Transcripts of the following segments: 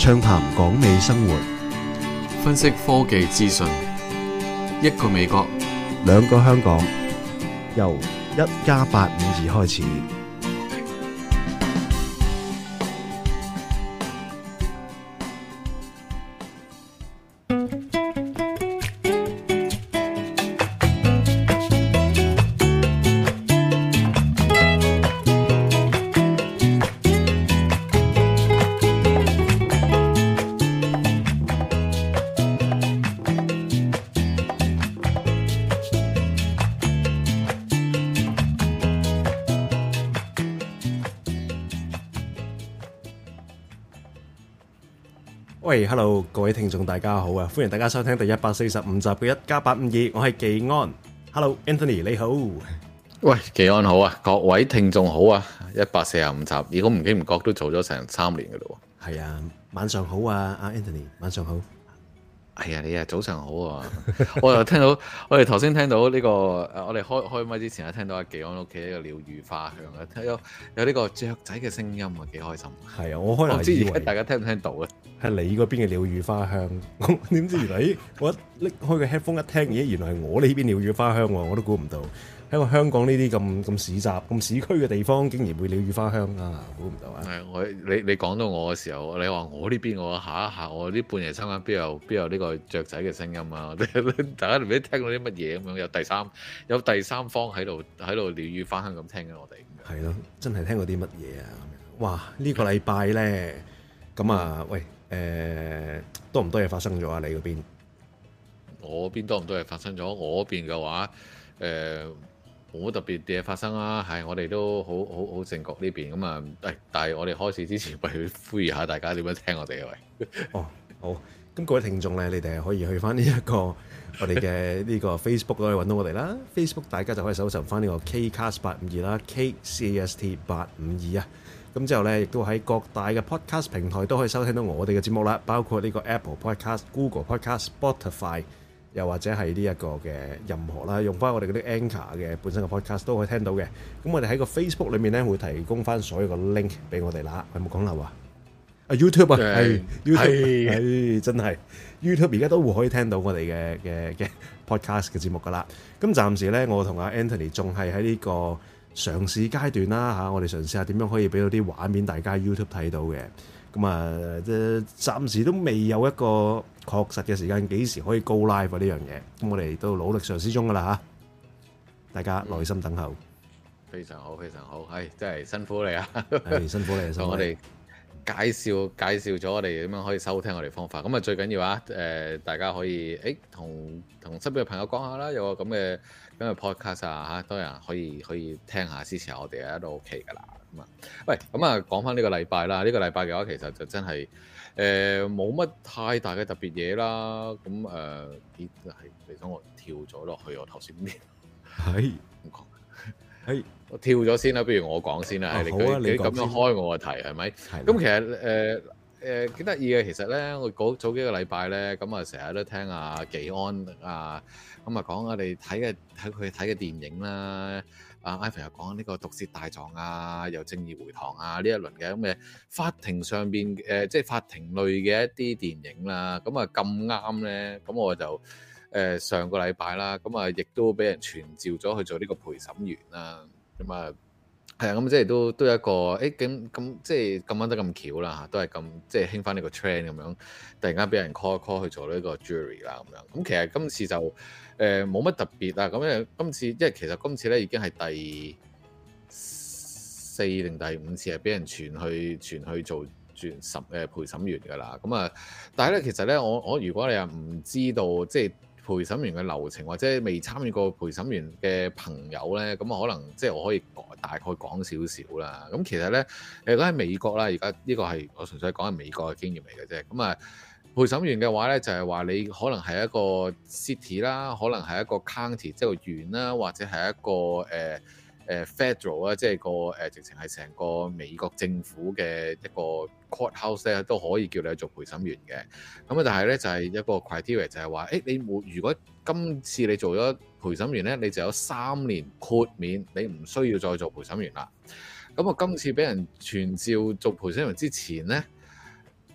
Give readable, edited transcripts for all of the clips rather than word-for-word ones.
暢談港美生活， 分析科技資訊。一個美國， 兩個香港，由1+852開始。喂，Hello， 各位聽眾大家好啊！歡迎大家收聽第145集嘅1+852，我係技安。Hello，Anthony 你好。 喂，技安好啊！各位聽眾好啊！145集，如果唔經唔覺都做咗成3年噶咯喎。 係啊，晚上好啊，阿 Anthony， 晚上好。 係啊，你啊早上好啊！我又聽到，我哋頭先聽到呢個我哋開麥之前啊，聽到阿技安屋企一個鳥語花香啊，有呢個雀仔嘅聲音啊，幾開心。 係啊，我開頭以為大家聽唔聽到啊？係你嗰邊嘅鳥語花香，點知原來我拎開個 headphone 一聽，咦，原來係我呢邊鳥語花香喎，我都估唔到。喺個香港呢啲咁市集、咁市區嘅地方，竟然會鳥語花香啊！估唔到啊！ 係你講到我嘅時候，你話我呢邊，我嚇一嚇，我啲半夜三更邊有呢個雀仔嘅聲音啊！大家唔知聽到啲乜嘢咁樣，有第三方喺度鳥語花香咁聽緊我哋。 係咯，真係聽過啲乜嘢啊？哇！呢個禮拜咧，咁啊，喂，多唔多嘢發生咗啊？你嗰邊？我邊多唔多嘢發生咗？我嗰邊嘅話，冇特別嘅嘢發生啦，係我哋都好正確呢邊咁啊！但係我哋開始之前，不如呼籲下大家點樣聽我哋啊？喂， 哦，好，咁各位聽眾咧，你哋係可以去翻呢一個我哋嘅呢個 Facebook 可以揾到我哋啦。Facebook 大家就可以搜尋翻呢個 Kcast852啦，KCAST852啊。咁之後咧，亦都喺各大嘅 Podcast 平台都可以收聽到我哋嘅節目啦，包括呢個 Apple Podcast、Google Podcast、Spotify。又或者係呢一個嘅任何啦，用翻我哋嗰啲 Anchor 嘅本身嘅 podcast 都可以聽到嘅。咁我哋喺個 Facebook 裏面咧會提供翻所有個 link 俾我哋啦。有冇講漏啊？YouTube 啊，係 YouTube，係真係 YouTube 而家都會可以聽到我哋嘅 podcast 嘅節目噶啦。咁暫時咧，我同阿 Anthony 仲係喺呢個嘗試階段啦嚇。我哋嘗試下點樣可以俾到啲畫面大家 YouTube 睇到嘅。咁啊，暫時都未有一個確實嘅時間，幾時可以 go live 呢樣嘢？咁我哋都努力嘗試中噶啦嚇，大家耐心等候。 非常好，非常好，係真係辛苦你啊！ 係辛苦你，辛苦你。 我哋介紹咗我哋點樣可以收聽我哋方法。咁啊，最緊要啊，大家可以同身邊嘅朋友講下啦，有個咁嘅 podcast 啊嚇，多人可以聽下，支持下我哋啊，都 OK 噶啦。喂，咁啊，講翻呢個禮拜啦。呢個禮拜嘅話，其實就真係冇乜太大嘅特別嘢啦。咁你等我跳咗落去我頭先邊？係唔講？係我跳咗先啦，不如我講先啦。你咁樣開我個題係咪？咁其實幾得意嘅。其實咧，我早幾個禮拜咧，咁啊成日都聽阿技安啊，咁啊講我哋睇佢睇嘅電影啦。Ivan 又講呢個毒舌大狀啊，又正義回廊啊，呢一輪嘅咁嘅法庭上邊即係法庭類嘅一啲電影啦。咁啊咁啱咧，咁我就上個禮拜啦，咁啊亦都俾人傳召咗去做呢個陪審員啦。咁啊係啊，咁即係都有一個咁即係咁啱得咁巧啦嚇，都係咁即係興翻呢個 trend 咁樣，突然間俾人 call 去做呢個 jury 啦咁樣。咁其實今次就冇乜特別啊，咁因為其實今次咧已經係第4定第5次係俾人傳去做陪審員㗎啦。咁啊，但係咧其實咧我如果你又唔知道即係陪審員嘅流程，或者未參與過陪審員嘅朋友咧，咁啊可能即係我可以大概講少少啦。咁其實咧如果喺美國啦，而家呢個係我純粹講係美國嘅經驗嚟嘅啫。咁啊陪審員嘅話咧，就係話你可能係一個 city 啦，可能係一個 county 即係個縣啦，或者係一個federal 啊，即係個直情係成個美國政府嘅一個 courthouse 咧，都可以叫你去做陪審員嘅。咁啊，但係咧就係一個 criteria 就係話，你如果今次你做咗陪審員咧，你就有3年豁免，你唔需要再做陪審員啦。咁啊，今次俾人傳召做陪審員之前咧，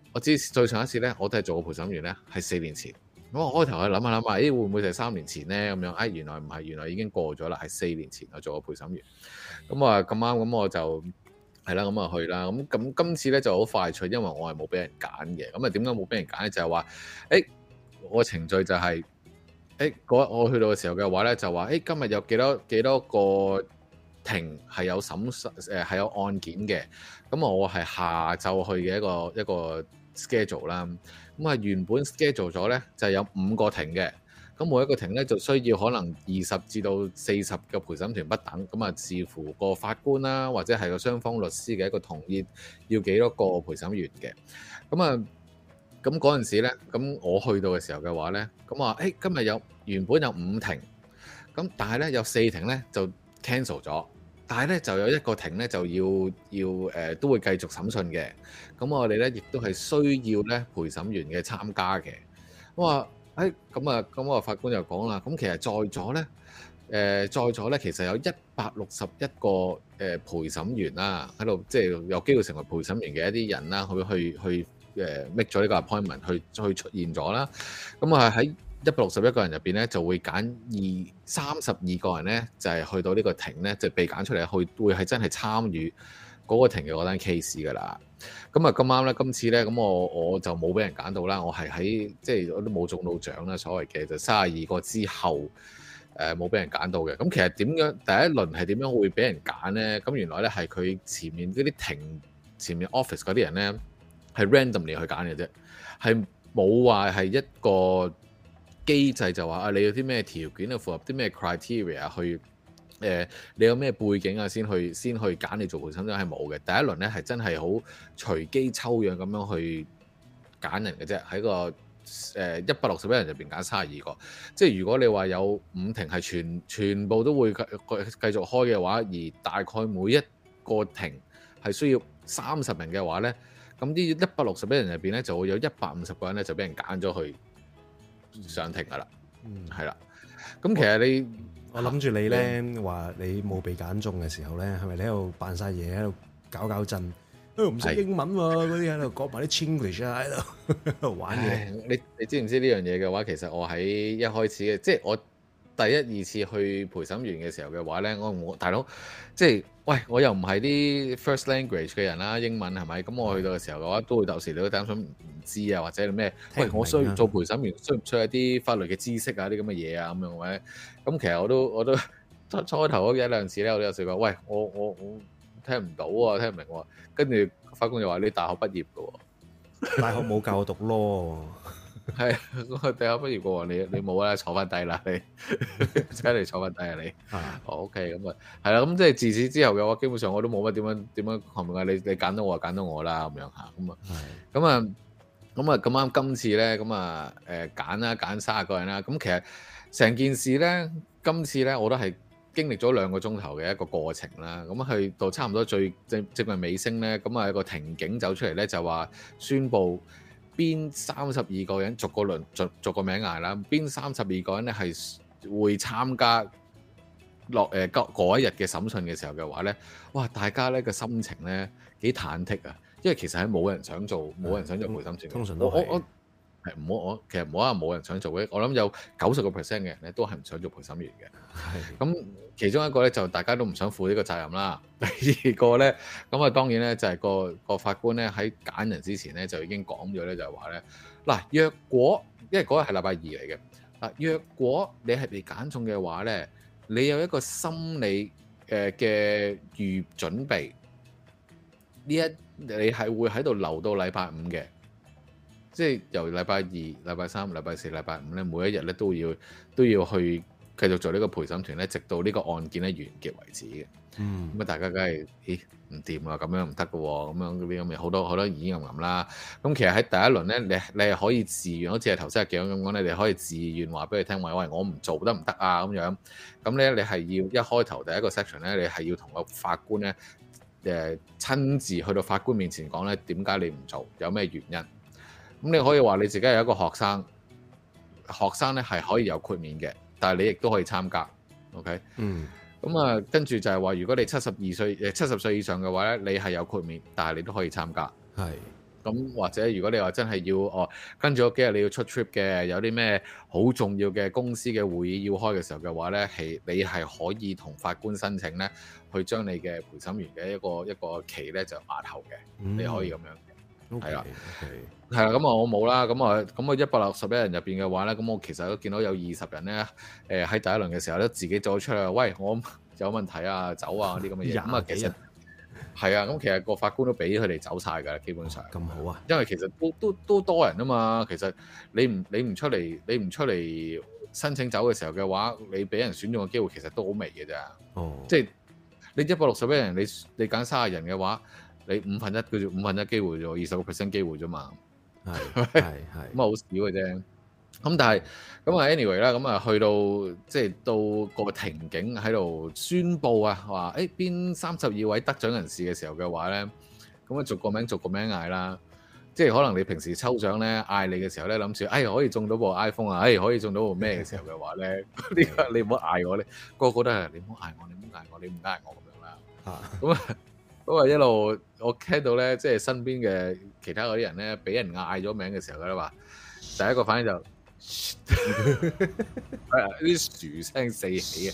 我知最上一次咧，我都係做過陪審員咧，係4年前。咁我開頭去諗下，咦會唔會就係3年前咧咁樣？原來唔係，原來已經過咗啦，係4年前我做過陪審員。咁啊咁啱，咁我就係啦，咁啊去啦。咁今次咧就好快脆，因為我係冇俾人揀嘅。咁啊點解冇俾人揀咧？就係話，我程序就係，我去到嘅時候嘅話咧，就話，今日有幾多個庭係有係有案件嘅。咁我係下晝去嘅一個 schedule 啦。咁啊原本 schedule 咗咧就係有5個庭嘅。咁每一個庭咧就需要可能20至到40個陪審團不等，咁啊視乎個法官啦，或者係個雙方律師嘅一個同意，要幾多個陪審員嘅。咁嗰陣時咧，咁我去到嘅時候嘅話咧，咁話今日原本有5庭，咁但係咧有4庭咧就 cancel 咗，但係咧就有1個庭咧就要都會繼續審訊嘅。咁我哋咧亦都係需要咧陪審員嘅參加嘅。我話咁我法官又講啦，咁其實在座咧，其實有161個陪審員啦，喺度即係有機會成為陪審員嘅一啲人啦，去make 咗呢個 appointment 去出現咗啦。咁啊喺161個人入邊咧，就會揀32個人咧，就係去到呢個庭咧，就被揀出嚟會係真係參與嗰個庭嘅嗰單 case 噶啦。咁啊咁啱咧，今次咧，咁我就冇俾人揀到啦。我係喺即係我都冇中到獎啦，所謂嘅就32個之後冇俾人揀到嘅。咁其實點樣第一輪係點樣會俾人揀咧？咁原來咧係佢前面嗰啲庭前面 office 嗰啲人咧係 randomly 去揀嘅啫，係冇話係一個機制就話你有啲咩條件啊，符合啲咩 criteria 去。你有咩背景啊？先去揀你做陪審員係冇嘅。第一輪咧係真係好隨機抽樣咁樣去揀人嘅啫，喺個161人入邊揀32個。即係如果你話有5庭係全部都會繼續開嘅話，而大概每一個庭係需要30人嘅話咧，咁啲161人入邊咧就會有150個人咧就俾人揀咗去上庭噶啦。係啦。咁其實我諗住你咧話你冇被揀中嘅時候咧，係咪你喺度扮晒嘢，喺度搞震？唔識英文喎，嗰啲喺度講埋啲 Chinglish 啊，喺度玩嘢。 你知唔知呢樣嘢嘅話？其實我喺一開始嘅，即係我第1、2次去陪審員嘅時候嘅話咧，我大佬即係喂，我又唔係啲 first language 嘅人啦，英文係咪？咁我去到嘅時候嘅話，都會有時你都擔心唔知啊，或者咩？喂，我需要做陪審員，需唔需要一啲法律嘅知識啊？啲咁嘅嘢啊，咁樣咧。咁其實我都初頭嗰1、2次咧，我都有試過。喂，我聽唔到啊，聽唔明喎。跟住法官又話你大學畢業嘅喎， 大學冇教我讀 law。 係我大學畢業嘅喎，你冇啦，坐翻低啦，你真係坐翻低啊你。OK，咁啊係啦，咁即係自此之後嘅話，基本上我都冇乜點樣comment啊。你揀到我就揀到我啦，咁樣嚇。咁啊咁啱今次咧，揀30個人啦。咁其實成件事咧，今次咧我都係經歷咗2個鐘頭嘅一個過程啦。咁去到差唔多最接近尾聲咧，咁啊有個庭警走出嚟咧，就話宣佈邊32個人逐個名嗌啦，邊32個人咧係會參加嗰一日嘅審訊嘅時候嘅話咧，哇！大家咧個心情咧幾忐忑啊，因為其實係冇人想做陪審團， 通常都係。 其實唔好話冇人想做嘅，我諗有90%嘅人咧都係唔想做陪審員嘅。咁其中一個咧就大家都唔想負呢個責任啦。第2個咧，咁啊當然咧就係個法官咧喺揀人之前咧就已經講咗咧，就係話咧嗱，若果因為嗰日係禮拜2嚟嘅嗱，若果你係被揀中嘅話咧，你有一個心理嘅預準備，你係會喺度留到禮拜5嘅。即係由禮拜2、禮拜3、禮拜4、禮拜5咧，每一日咧都要去繼續做呢個陪審團咧，直到呢個案件咧完結為止嘅。咁啊，大家梗係唔掂啊，咁樣唔得嘅喎，咁樣嗰啲咁嘅好多耳吟啦。咁其實喺第一輪咧，你係可以自願，好似係頭先阿鏡咁講，你哋可以自願話俾佢聽，喂，我唔做得唔得啊？咁樣咁咧，你係要一開頭第一個 section 咧，你係要同個法官咧親自去到法官面前講咧，點解你唔做，有咩原因？咁你可以話你自己係一個學生咧係可以有豁免嘅，但係你亦都可以參加。OK，咁啊，跟住就係話，如果你70歲以上嘅話咧，你係有豁免，但係你都可以參加。 係咁或者如果你話真係要跟住嗰幾日你要出 trip 嘅，有啲咩好重要嘅公司嘅會議要開嘅時候嘅話咧，你係可以同法官申請咧，去將你嘅陪審員嘅一個期咧就押後嘅，你可以咁樣嘅，係啦，係啦，咁啊我冇啦，咁啊161人入邊嘅話咧，咁我其實都見到有20人咧，喺第一輪嘅時候咧自己走出嚟，喂，我有問題啊，走啊啲咁嘅嘢，咁啊其實係啊，咁其實個法官都俾佢哋走晒㗎啦，基本上咁好啊， 因為其實都多人啊嘛，其實你唔出嚟申請走嘅時候嘅話，你俾人選中嘅機會其實都好微嘅咋，即係你161人，你揀30人嘅話，你5分1機會啫，20% 機會啫嘛，係咁啊好少嘅啫。咁但係咁啊 anyway 啦，咁啊去到即係到個庭警喺度宣佈啊，話邊32位得獎人士嘅時候嘅話咧，咁啊逐個名嗌啦，即係可能你平時抽獎咧嗌你嘅時候咧，諗住可以中到部 iPhone 啊，可以中到部咩嘅時候嘅話咧，你唔好嗌我咧，個個都係你唔好嗌我，你唔好嗌我，你唔嗌我咁樣啦。咁啊一路我聽到咧，即係身邊嘅其他嗰啲人咧，俾人嗌咗名嘅時候咧話，第一個反應就啲薯聲四起啊，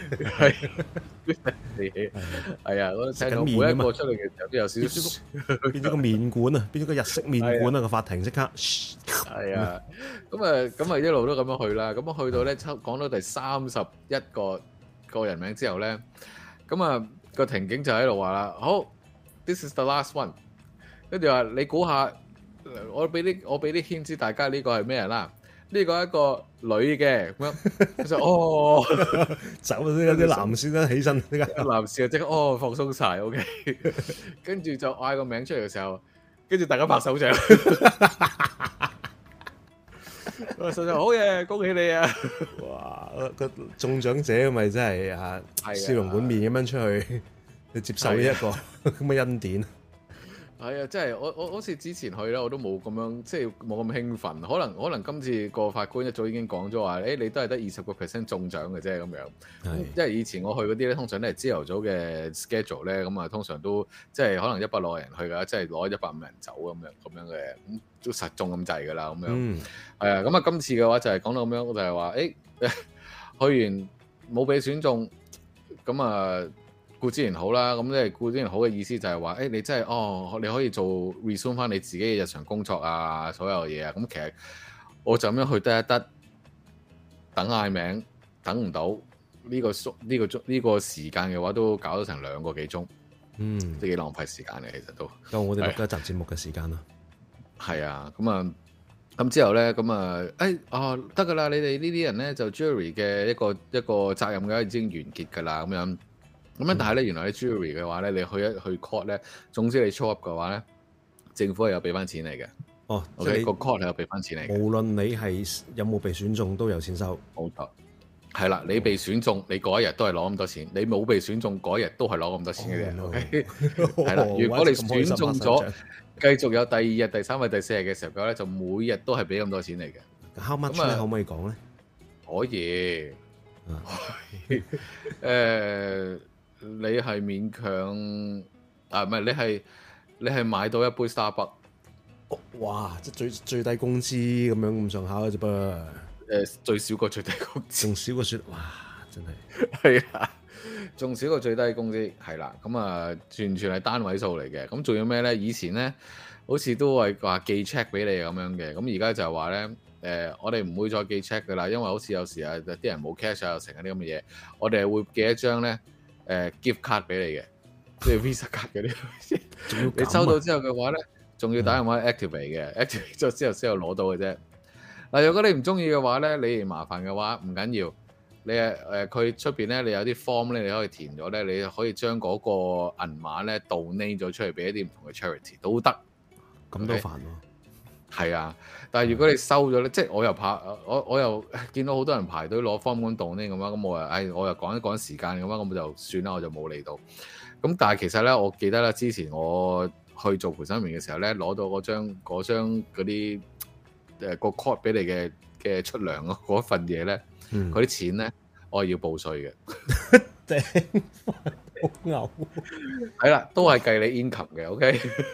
係啊，我聽到每一個出嚟嘅時候都有少少變咗個麵館啊，變咗個日式麵館啊，個法庭即刻係啊，咁啊一路都咁樣去啦，咁啊去到咧講到第31個人名之後咧，咁啊個庭警就喺度話啦，好 ，this is the last one， 跟住話你估下，我俾啲 hint知大家呢個係咩人啦？呢個係一個女嘅咁樣，佢就走先有啲男先啦，起身呢個男士啊即刻放鬆晒 OK 跟住就嗌個名出嚟嘅時候，跟住大家拍手掌，手掌好嘢，恭喜你啊！哇，個中獎者咪真係笑容滿面咁樣出去接受呢一個咁嘅恩典。係啊，即係我好似之前去咧，我都冇咁樣，即係冇咁興奮。可能今次個法官一早已經講咗話，你都係得20% 中獎嘅啫咁樣。因為以前我去嗰啲咧，通常都係朝頭早嘅 schedule 咧，咁啊通常都即係可能160人去㗎，即係攞150人走咁樣嘅，咁都實中咁滯㗎啦咁樣。係啊，咁啊今次嘅話就係講到咁樣，就係話去完冇俾選中，咁啊。顧之然好啦，咁即係顧之然好嘅意思就係話，你真係你可以做 resume 翻你自己嘅日常工作啊，所有嘢啊，咁其實我就咁樣去得一得，等嗌名，等唔到呢個時間嘅話，都搞咗成2個幾鐘，都幾浪費時間嘅，其實都夠我哋錄一集節目嘅時間啦。係啊，咁之後咧，咁得㗎啦，你哋呢啲人咧就 jury 嘅一個責任嘅已經完結㗎啦，咁樣。咁但係咧，原來喺 jury 嘅話咧，你去 court 咧，總之你 show up 嘅話咧，政府係有俾翻錢嚟嘅。即係個 court 係有俾翻錢嚟嘅。無論你係有冇被選中，都有錢收。冇錯。係啦，你被選中，你嗰一日都係攞咁多錢；你冇被選中，嗰一日都係攞咁多錢嘅啫。係啦，如果你選中咗，繼續有第2日、第3日、第4日嘅時候咧，就每日都係俾咁多錢嚟嘅。How much 咧？可唔可以講咧？可以。你係勉強唔係你係買到一杯 Starbucks，哇！即係最低工資咁樣咁上下嘅啫噃。最少過最低工資，仲少過哇！真係係啊，仲少過最低工資係啦。咁啊，全係單位數嚟嘅。咁仲要咩咧？以前咧好似都係話寄 check 俾你咁樣嘅。咁而家就係話咧，我哋唔會再寄 check 噶啦，因為好似有時啊啲人冇 cash 啊，成嗰啲咁嘅嘢，我哋係會寄一張咧。gift card 俾你嘅，即係 Visa 卡嗰啲，你收到之後嘅話咧，仲要打電話 activate 嘅，activate 咗之後先有攞到嘅啫。嗱，如果你唔中意嘅話咧，你麻煩嘅話唔緊要，你佢出邊咧，你有啲 form 咧，你可以填咗咧，你可以將嗰個銀碼咧 donate 咗出嚟俾一啲唔同嘅 charity 都得。咁都煩喎。係啊，但係如果你收咗咧，即係我又怕，我又見到好多人排隊攞 form 咁動呢咁樣，咁我又趕一趕時間咁樣，咁就算啦，我就冇嚟到。咁但係其實咧，我記得咧，之前我去做陪審員嘅時候咧，攞到嗰張嗰啲個 court 俾你嘅出糧嗰份嘢咧，嗰啲錢咧，我係要報稅嘅。頂好牛！係啦，都係計你 income 嘅，OK。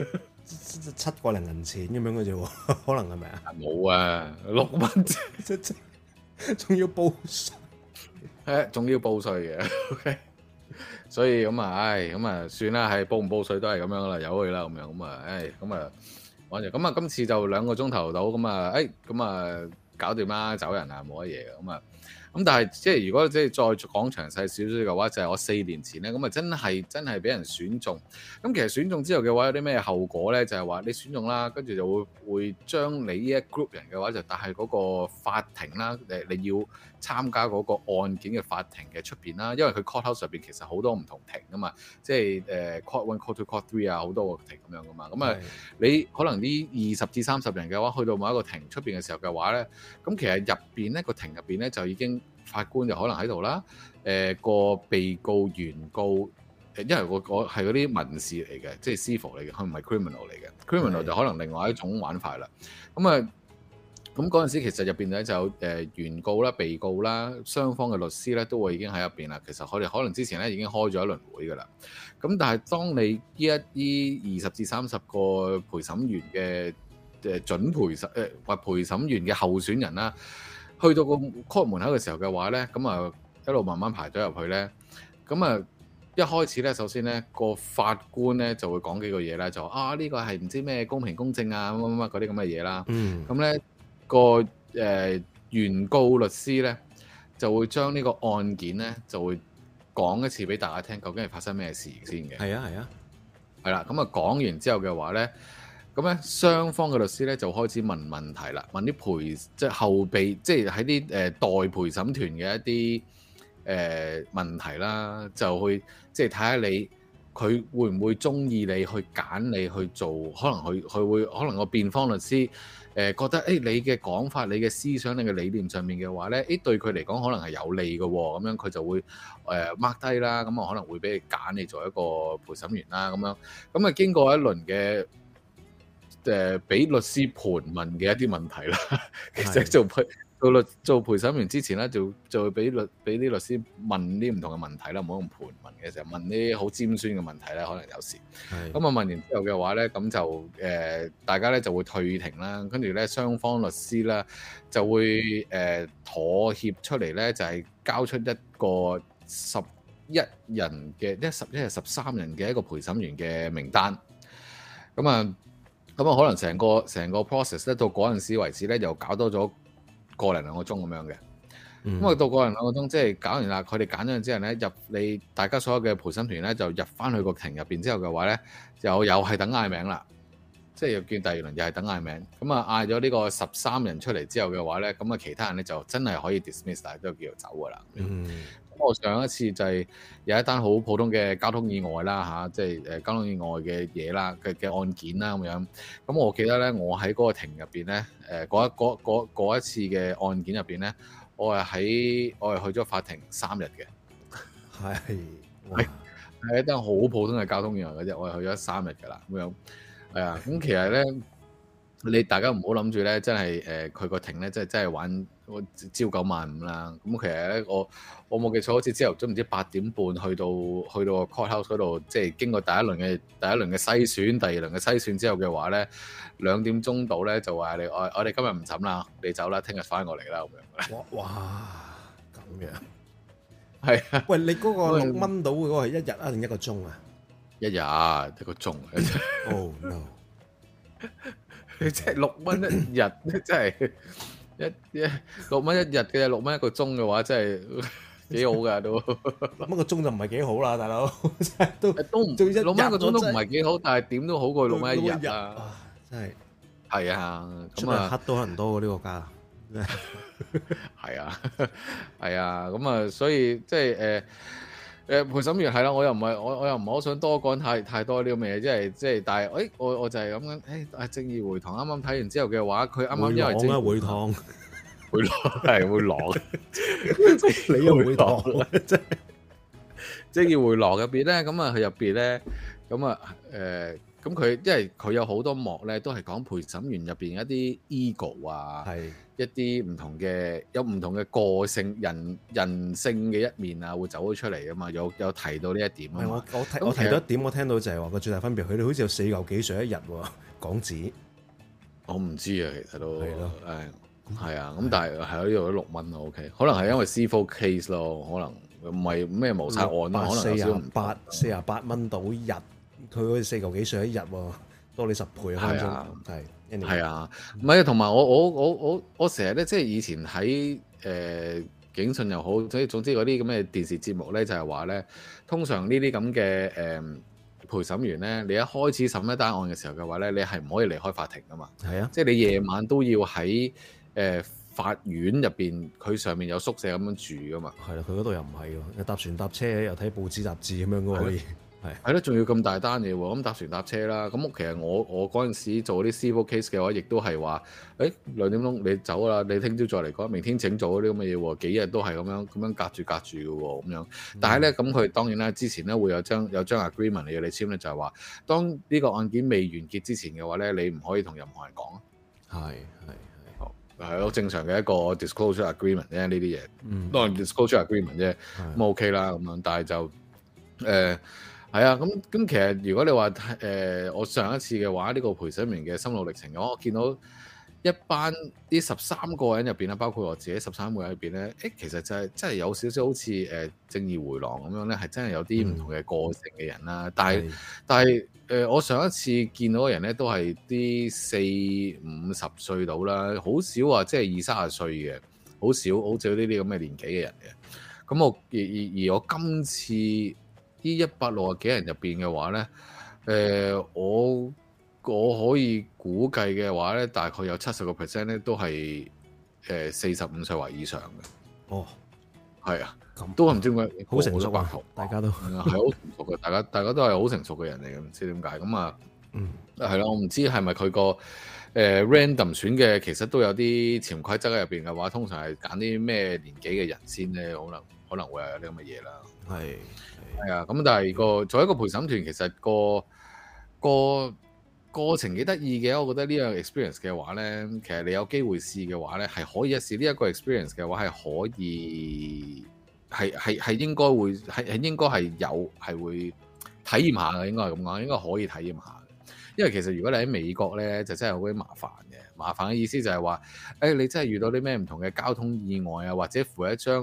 7個零銀錢咁樣嘅啫喎，可能係咪啊？ 冇啊，6蚊仲要報稅， 仲要報稅嘅。OK， 所以咁啊，咁啊算啦，係報唔報稅都係咁樣啦，由佢啦咁樣，咁啊，咁啊玩住，咁啊今次就2個鐘頭到，咁啊，咁啊搞掂啦，走人啊，冇乜嘢嘅，咁啊。咁但係即係如果即係再講詳細少少嘅話，就係我4年前咧，咁啊真係俾人選中。咁其實選中之後嘅話，有啲咩後果咧？就係話你選中啦，跟住就會將你呢一 group 人嘅話就帶去嗰個法庭啦。你要參加嗰個案件嘅法庭嘅出邊啦，因為佢 court house 入邊其實好多唔同庭噶嘛，即係court 1、court 2、court 3啊，好多個庭咁樣噶嘛。咁啊，你可能呢20至30人嘅話，去到某一個庭出邊嘅時候嘅話咧，咁其實入邊咧個庭入邊咧就已經法官就可能喺度啦，個被告、原告，因為我係嗰啲民事嚟嘅，即係 civil 嚟嘅，佢唔係 criminal 嚟嘅。criminal 就可能另外一種玩法啦。咁啊，咁嗰陣時其實入邊咧就有原告啦、被告啦、雙方嘅律師咧都會已經喺入邊啦。其實佢哋可能之前咧已經開咗一輪會噶啦。咁但係當你呢20至30個陪審員嘅準陪審或陪審員嘅候選人啦，去到個 court 門口嘅時候嘅話咧，咁啊一路慢慢排隊入去咧，咁啊一開始咧，首先咧個法官咧就會講幾個嘢啦，就話呢個係唔知咩公平公正啊乜乜乜嗰啲咁嘅嘢啦。咁咧個原告律師咧就會將呢個案件咧就會講一次俾大家聽，究竟係發生咩事先嘅。係啦。咁啊講完之後嘅話咧，咁咧雙方嘅律師咧就開始問問題啦，問啲即係後備，即係喺啲代陪審團嘅一啲問題啦，就去即係睇下你佢會唔會中意你去揀你去做，可能佢會可能個辯方律師覺得你嘅講法、你嘅思想、你嘅理念上面嘅話咧，對佢嚟講可能係有利嘅喎，咁樣佢就會mark 低啦，咁啊可能會俾你揀你做一個陪審員啦，咁樣咁啊經過一輪嘅俾律師盤問嘅一啲問題啦，其實做陪審員之前咧，就會俾啲律師問啲唔同嘅問題啦，唔好用盤問嘅時候問啲好尖酸嘅問題咧，可能有時。咁啊問完之後嘅話咧，咁就大家咧就會退庭啦，跟住咧雙方律師啦就會妥協出嚟咧，就係交出一個11人嘅11日13人嘅一個陪審員嘅名單。咁啊可能成個 process 咧到嗰陣時為止咧，又搞多咗1零2個鐘咁樣嘅。咁啊到1零2個鐘，即係搞完啦，佢哋揀咗之後咧，你大家所有嘅陪審團咧就入翻去個庭入邊之後嘅話咧，又係等嗌名啦，即係又見第2輪又係等嗌名。咁啊嗌咗呢個13人出嚟之後嘅話咧，咁啊其他人咧就真係可以 dismiss，但係都叫做走噶啦。我上一次就係有一單好普通嘅交通意外啦，即係交通意外嘅嘢啦嘅案件啦咁樣。咁我記得咧，我喺嗰個庭入邊咧，嗰一次嘅案件入邊咧，我係去咗法庭3日嘅。係一單好普通嘅交通意外嘅啫，我係去咗3日㗎啦咁樣。係啊，咁其實咧，你大家唔好諗住咧，真係佢個庭咧，真係玩朝9晚5啦。咁其實咧，我冇記錯，好似朝頭早唔知8點半去到個 court house 嗰度，即係經過第一輪嘅篩選，第2輪嘅篩選之後嘅話咧，2點鐘到咧就話我哋今日唔審啦，你走啦，聽日翻過嚟啦咁樣。哇， 咁樣係啊！ 喂，你嗰個6蚊到嗰個係1日啊定1個鐘啊 ？1日1個鐘。 Oh no！ 即係6蚊1日，真係6蚊1日嘅，6蚊1個鐘嘅話，真係幾好㗎都。 6蚊個鐘就唔係幾好啦，大佬。都唔 6蚊1個鐘都唔係幾好，但係點都好過6蚊1日啊！ 真係係啊， 咁啊黑多人多喎呢個價。 係啊，係啊，咁啊，所以即係陪審員係啦，我又唔係好想多講太多呢啲咁嘅嘢，即係，但係我就係咁樣，正義回廊啱啱睇完之後嘅話，佢啱啱因為正義回廊係會廊， 你又回廊，真係正義回廊入邊咧，咁啊佢入邊咧，咁啊咁佢因為佢有好多幕咧，都係講陪審員入邊一啲 ego 啊， 一啲唔同嘅有唔同嘅個性人性嘅一面啊，會走咗出嚟啊嘛，有提到呢一點啊嘛。 我提到一點，我聽到就係話個最大分別，佢哋好似有4嚿幾水一日喎港紙。 我唔知啊，其實都係咯， 係啊，咁但係係咯，呢度都6蚊咯 ，OK， 可能係因為 C4 case 咯，可能唔係咩謀殺案啦，可能有少48蚊到日，佢好似4嚿幾水一日喎，多你10倍啊，分鐘係啊，唔係啊，同埋我成日咧，即係以前喺警訊又好，總之嗰啲咁嘅電視節目咧，就係話咧，通常呢啲咁嘅陪審員咧，你一開始審一單案嘅時候嘅話咧，你係唔可以離開法庭噶嘛。係啊，即係你夜晚都要喺法院入邊，佢上面有宿舍咁樣住噶嘛。 係啦，佢嗰度又唔係喎，又搭船搭車，又睇報紙雜誌咁樣噶喎，可以係咯， 仲要咁大單嘢喎。咁搭船搭車啦，咁其實我嗰陣時做啲 civil case 嘅話，亦都係話，誒2點鐘你走啦，你聽朝再嚟講，明天請做嗰啲咁嘅嘢喎，幾日都係咁樣隔住嘅喎，咁樣。但係咧，咁佢當然啦，之前咧會有張 agreement 嚟要你簽咧，就係話，當呢個案件未完結之前嘅話咧，你唔可以同任何人講。係咯，正常嘅一個 disclosure agreement 啫，呢啲嘢，當然 disclosure agreement 啫，咁 OK 啦，咁樣。但係就係啊，咁其實如果你話我上一次嘅話，呢個陪審員嘅心路歷程嘅話，我見到一班啲13個人入邊啦，包括我自己13個人入邊咧，其實就係真係有少少好似正義迴廊咁樣咧，係真係有啲唔同嘅個性嘅人啦。但係我上一次見到嘅人咧，都係啲40-50歲到啦，好少話即係20-30歲嘅，好少呢啲咁嘅年紀嘅人嘅。咁而我今次呢160幾人入邊嘅話咧，我可以估計嘅話咧，大概有70% 咧都係45歲或以上嘅。哦，係啊，都唔知點解好成熟啊，大家都係好成熟嘅，大家都係好成熟嘅人嚟嘅，唔知點解咁啊。係咯，我唔知係咪佢個random 選嘅，其實都有啲潛規則喺入邊嘅話，通常係揀啲咩年紀嘅人先咧，可能會有啲咁嘅嘢啦。係啊，咁但係作為一個陪審團，其實個過程幾得意嘅，我覺得呢樣 experience 嘅話咧，其實你有機會試嘅話咧，係可以一試呢一個 experience 嘅話，係可以係應該會係應該係會體驗下嘅，應該係咁講，應該可以體驗下。因為其實如果你喺美國咧，就真係好鬼麻煩嘅。麻煩嘅意思就係話，你真係遇到啲咩唔同嘅交通意外啊，或者附一張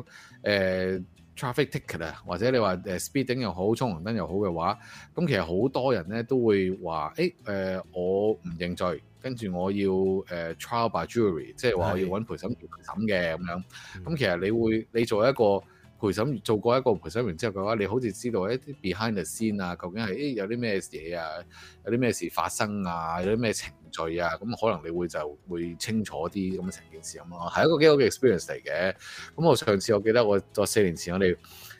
traffic ticket 啊，或者你話speeding 又好，衝紅燈又好嘅話，咁其實好多人咧都會話，我唔認罪，跟住我要trial by jury，即係話我要揾陪審團審嘅咁樣。咁其實你做過一個陪審員之後嘅話，你好似知道一啲 behind the scene 啊，究竟係有啲咩嘢啊，有啲咩事發生啊，有啲咩程序啊，咁可能你就會清楚啲咁成件事咁咯，係一個幾好嘅 experience 嚟嘅。咁我上次我記得我4年前我哋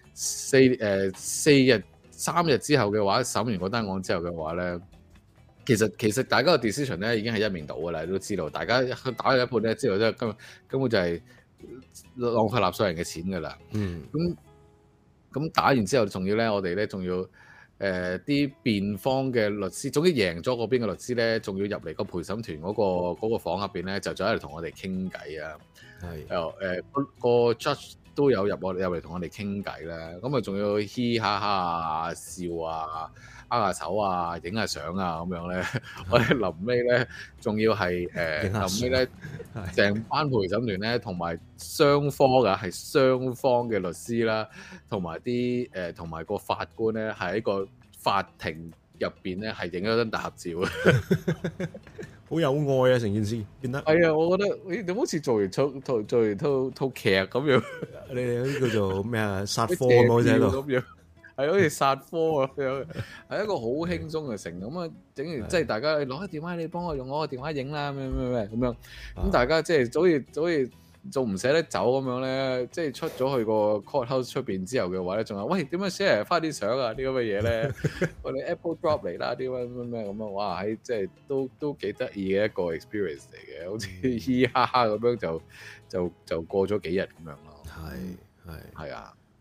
3日之後嘅話審完嗰單案之後嘅話咧，其實大家嘅 decision 咧已經係一面倒㗎啦，你都知道，大家打咗一半咧之後，即係根本就係浪費納稅人嘅錢㗎啦。咁打完之後，仲要咧，我哋咧仲要啲辯方嘅律師，總之贏咗嗰邊嘅律師咧，仲要入嚟個陪審團嗰個房入邊咧，就喺度同我哋傾偈啊。個 judge 都有入嚟同我哋傾偈啦。咁啊，仲要嘻哈哈啊、笑啊、握下手啊、影下相啊咁樣咧。我哋臨尾咧，仲要係臨尾咧，成班陪審團咧，同埋雙方嘅律師啦，同埋個法官咧，係喺個法庭入邊咧，係影咗張大合照嘅。 好有愛啊！成件事變得係啊！我覺得你好似做完套劇咁樣， 你哋嗰啲叫做咩啊？殺科咁喺度， 係好似殺科咁樣，係一個好輕鬆嘅成咁啊！整完即係大家攞個電話，你幫我用我個電話影啦，咩咁樣。咁大家即係好似做唔捨得走咁樣咧，即係出咗去個 courthouse 出邊之後嘅話咧，仲有喂點樣 share 翻啲相啊？啲咁嘅嘢咧，我哋 Apple Drop 嚟啦，啲咩咁啊！哇，喺即係都幾得意嘅一個 experience 嚟嘅，好似嘻嘻哈哈咁樣就過咗幾日咁樣咯。係啊，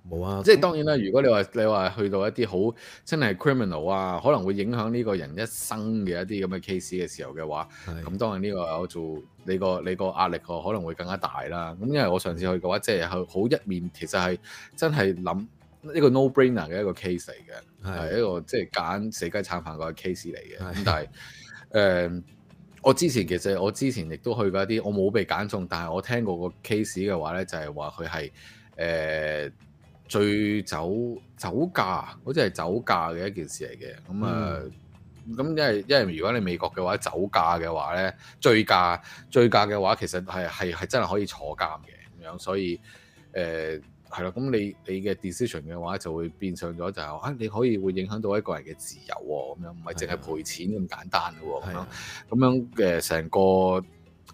冇啊！ 即係當然啦，如果你話去到一啲好真係 criminal 啊，可能會影響呢個人一生嘅一啲咁嘅 case 嘅時候嘅話，咁當然呢個有做你個壓力可能會更加大啦。咁因為我上次去嘅話，即係好一面，其實係真係諗一個 no brainer 嘅一個 case 嚟嘅，係一個即係揀死雞撐飯個 case 嚟嘅。咁但係我之前亦都去過一啲，我冇被揀中，但係我聽過個 case 嘅話咧，就係話佢係醉酒駕，好似係酒駕嘅一件事嚟嘅。咁咁因為如果你美國嘅話，酒駕嘅話咧，醉駕嘅話，其實係真係可以坐監嘅咁樣，所以係咯。咁你嘅 decision 嘅話，就會變相咗就係你可以會影響到一個人嘅自由喎，咁樣唔係淨係賠錢咁簡單嘅喎，咁樣嘅成個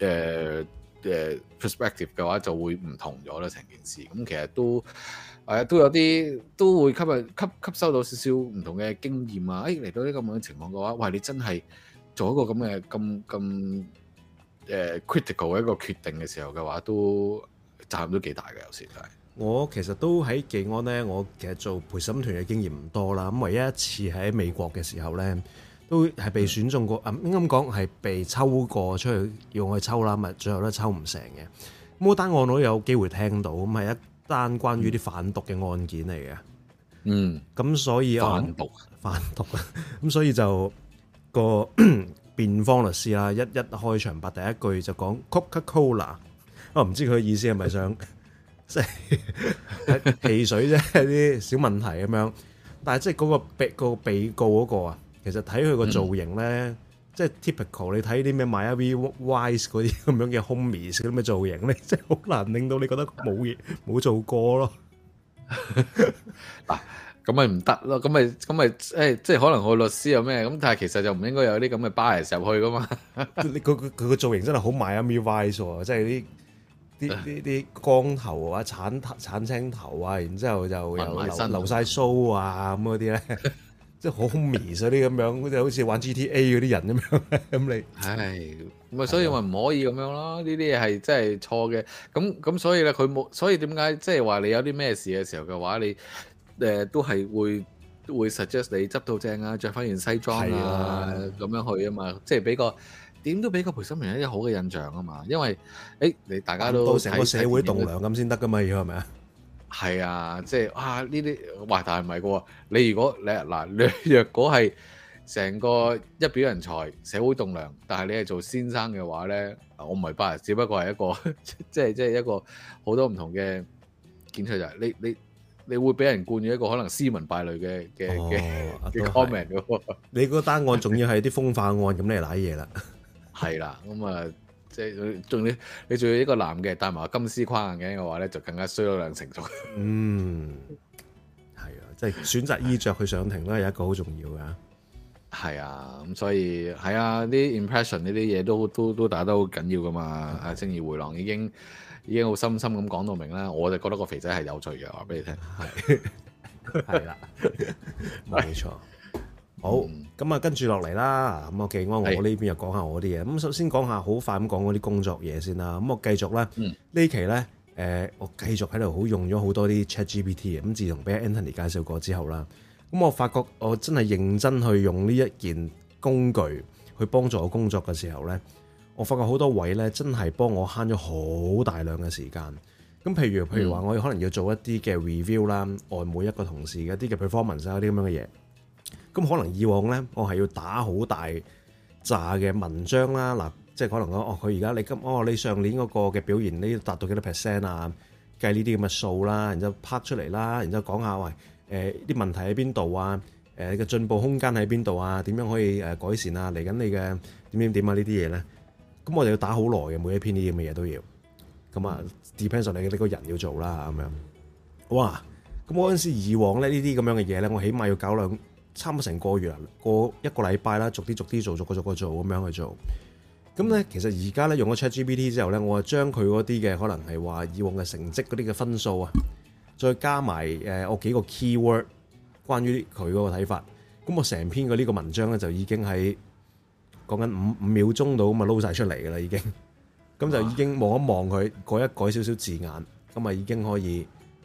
perspective 嘅話就會唔同咗啦，成件事。咁其實都有啲都會吸收到少少唔同嘅經驗啊！嚟到呢咁樣嘅情況嘅話，喂，你真係做一個咁嘅咁 critical 嘅一個決定嘅時候嘅話，都責任都幾大嘅，有時就係。我其實都喺技安咧，我其實做陪審團嘅經驗唔多啦。咁唯一一次喺美國嘅時候咧，都係被選中過，應該咁講係被抽過出去要我去抽啦，咪最後都抽唔成嘅。咁嗰單案我都有機會聽到，咁係一單關於啲販毒嘅案件嚟嘅。咁所以販毒啊，咁所以就個辯方律師啦，一開場白第一句就講 Coca-Cola， 我唔知佢嘅意思係咪想即係汽水啫，啲小問題咁樣。但係即係嗰個被告嗰個啊，其實睇佢個造型咧，即係 typical。你睇啲咩 Miami Vice 嗰啲咁樣嘅 homies 嗰啲咩造型咧，即係好難令到你覺得冇做過咯。嗱，咁咪唔得咯，咁咪即係可能個律師有咩咁，但係其實就唔應該有啲咁嘅 bias 入去噶嘛。佢個造型真係好 Miami Vice 喎，即係啲光頭啊、橙青頭啊，然之後就又留晒鬚啊咁嗰啲咧。即係好 homies 嗰啲咁樣，好似玩 GTA 嗰啲人咁樣。咁你係咁啊，所以咪唔可以咁樣咯。呢啲嘢係真係錯嘅。咁所以咧，佢冇。所以點解即係話你有啲咩事嘅時候嘅話，你都係會 suggest 你執到正啊，着翻件西裝啊咁樣去啊嘛。即係俾個點都俾個陪審員一啲好嘅印象啊嘛。因為你大家都成個社會棟梁咁先得噶嘛，要係咪啊？係啊，即係呢啲，哇！但係唔係嘅喎，你如果你若果係成個一表人才、社會棟梁，但係你係做先生嘅話咧，我唔係bias，只不過係一個即係一個好多唔同嘅見出就係你會俾人冠以一個可能斯文敗類嘅 comment 嘅喎。你嗰單案仲要係啲風化案，咁你係瀨嘢啦。係啦，咁啊。即係你仲要一個男嘅戴埋金絲框眼鏡嘅話咧，就更加衰咗兩成咗。係啊，即係選擇衣着去上庭咧，有一個好重要㗎。係啊，咁所以係啊，啲 impression 呢啲嘢都打得好緊要㗎嘛。啊，正義迴廊已經好深深咁講到明啦。我就覺得個肥仔係有罪嘅，話俾你聽。係啦，冇錯。好，咁啊，跟住落嚟啦。咁我既然我呢邊又講下我啲嘢。咁首先講下好快咁講嗰啲工作嘢先啦。咁我繼續咧，呢期咧，我繼續喺度用咗好多啲 ChatGPT 嘅。咁自從俾 Anthony 介紹過之後啦，咁我發覺我真係認真去用呢一件工具去幫助我工作嘅時候咧，我發覺好多位咧真係幫我慳咗好大量嘅時間。咁譬如話，我可能要做一啲嘅 review 啦，外每一個同事嘅一啲嘅 performance 啊，啲咁樣嘅嘢。咁可能以往咧，我係要打好大扎嘅文章啦，嗱，即係可能講佢而家你上年嗰個嘅表現，你達到幾多 percent 啊？計呢啲咁嘅數啦，然之後拍出嚟啦，然之後講下啲問題喺邊度啊？你嘅進步空間喺邊度啊？點樣可以改善啊？嚟緊你嘅點啊？呢啲嘢咧，咁我哋要打好耐嘅，每一篇呢啲咁嘅嘢都要。咁啊，depends on 你個人要做啦，咁樣。哇！咁嗰陣時以往咧呢啲咁樣嘅嘢咧，我起碼要搞差唔多成個月啦，過一個禮拜啦，逐啲做，逐個做咁樣去做。咁咧，其實而家咧用咗 ChatGPT 之後咧，我就將佢嗰啲嘅可能係話以往嘅成績嗰啲嘅分數啊，再加埋我幾個 keyword 關於佢嗰個睇法。咁我成篇嘅呢個文章咧就已經喺講緊五秒鐘度咁啊撈晒出嚟㗎啦，已經。咁就已經望一望佢，改一改少少字眼，咁啊已經可以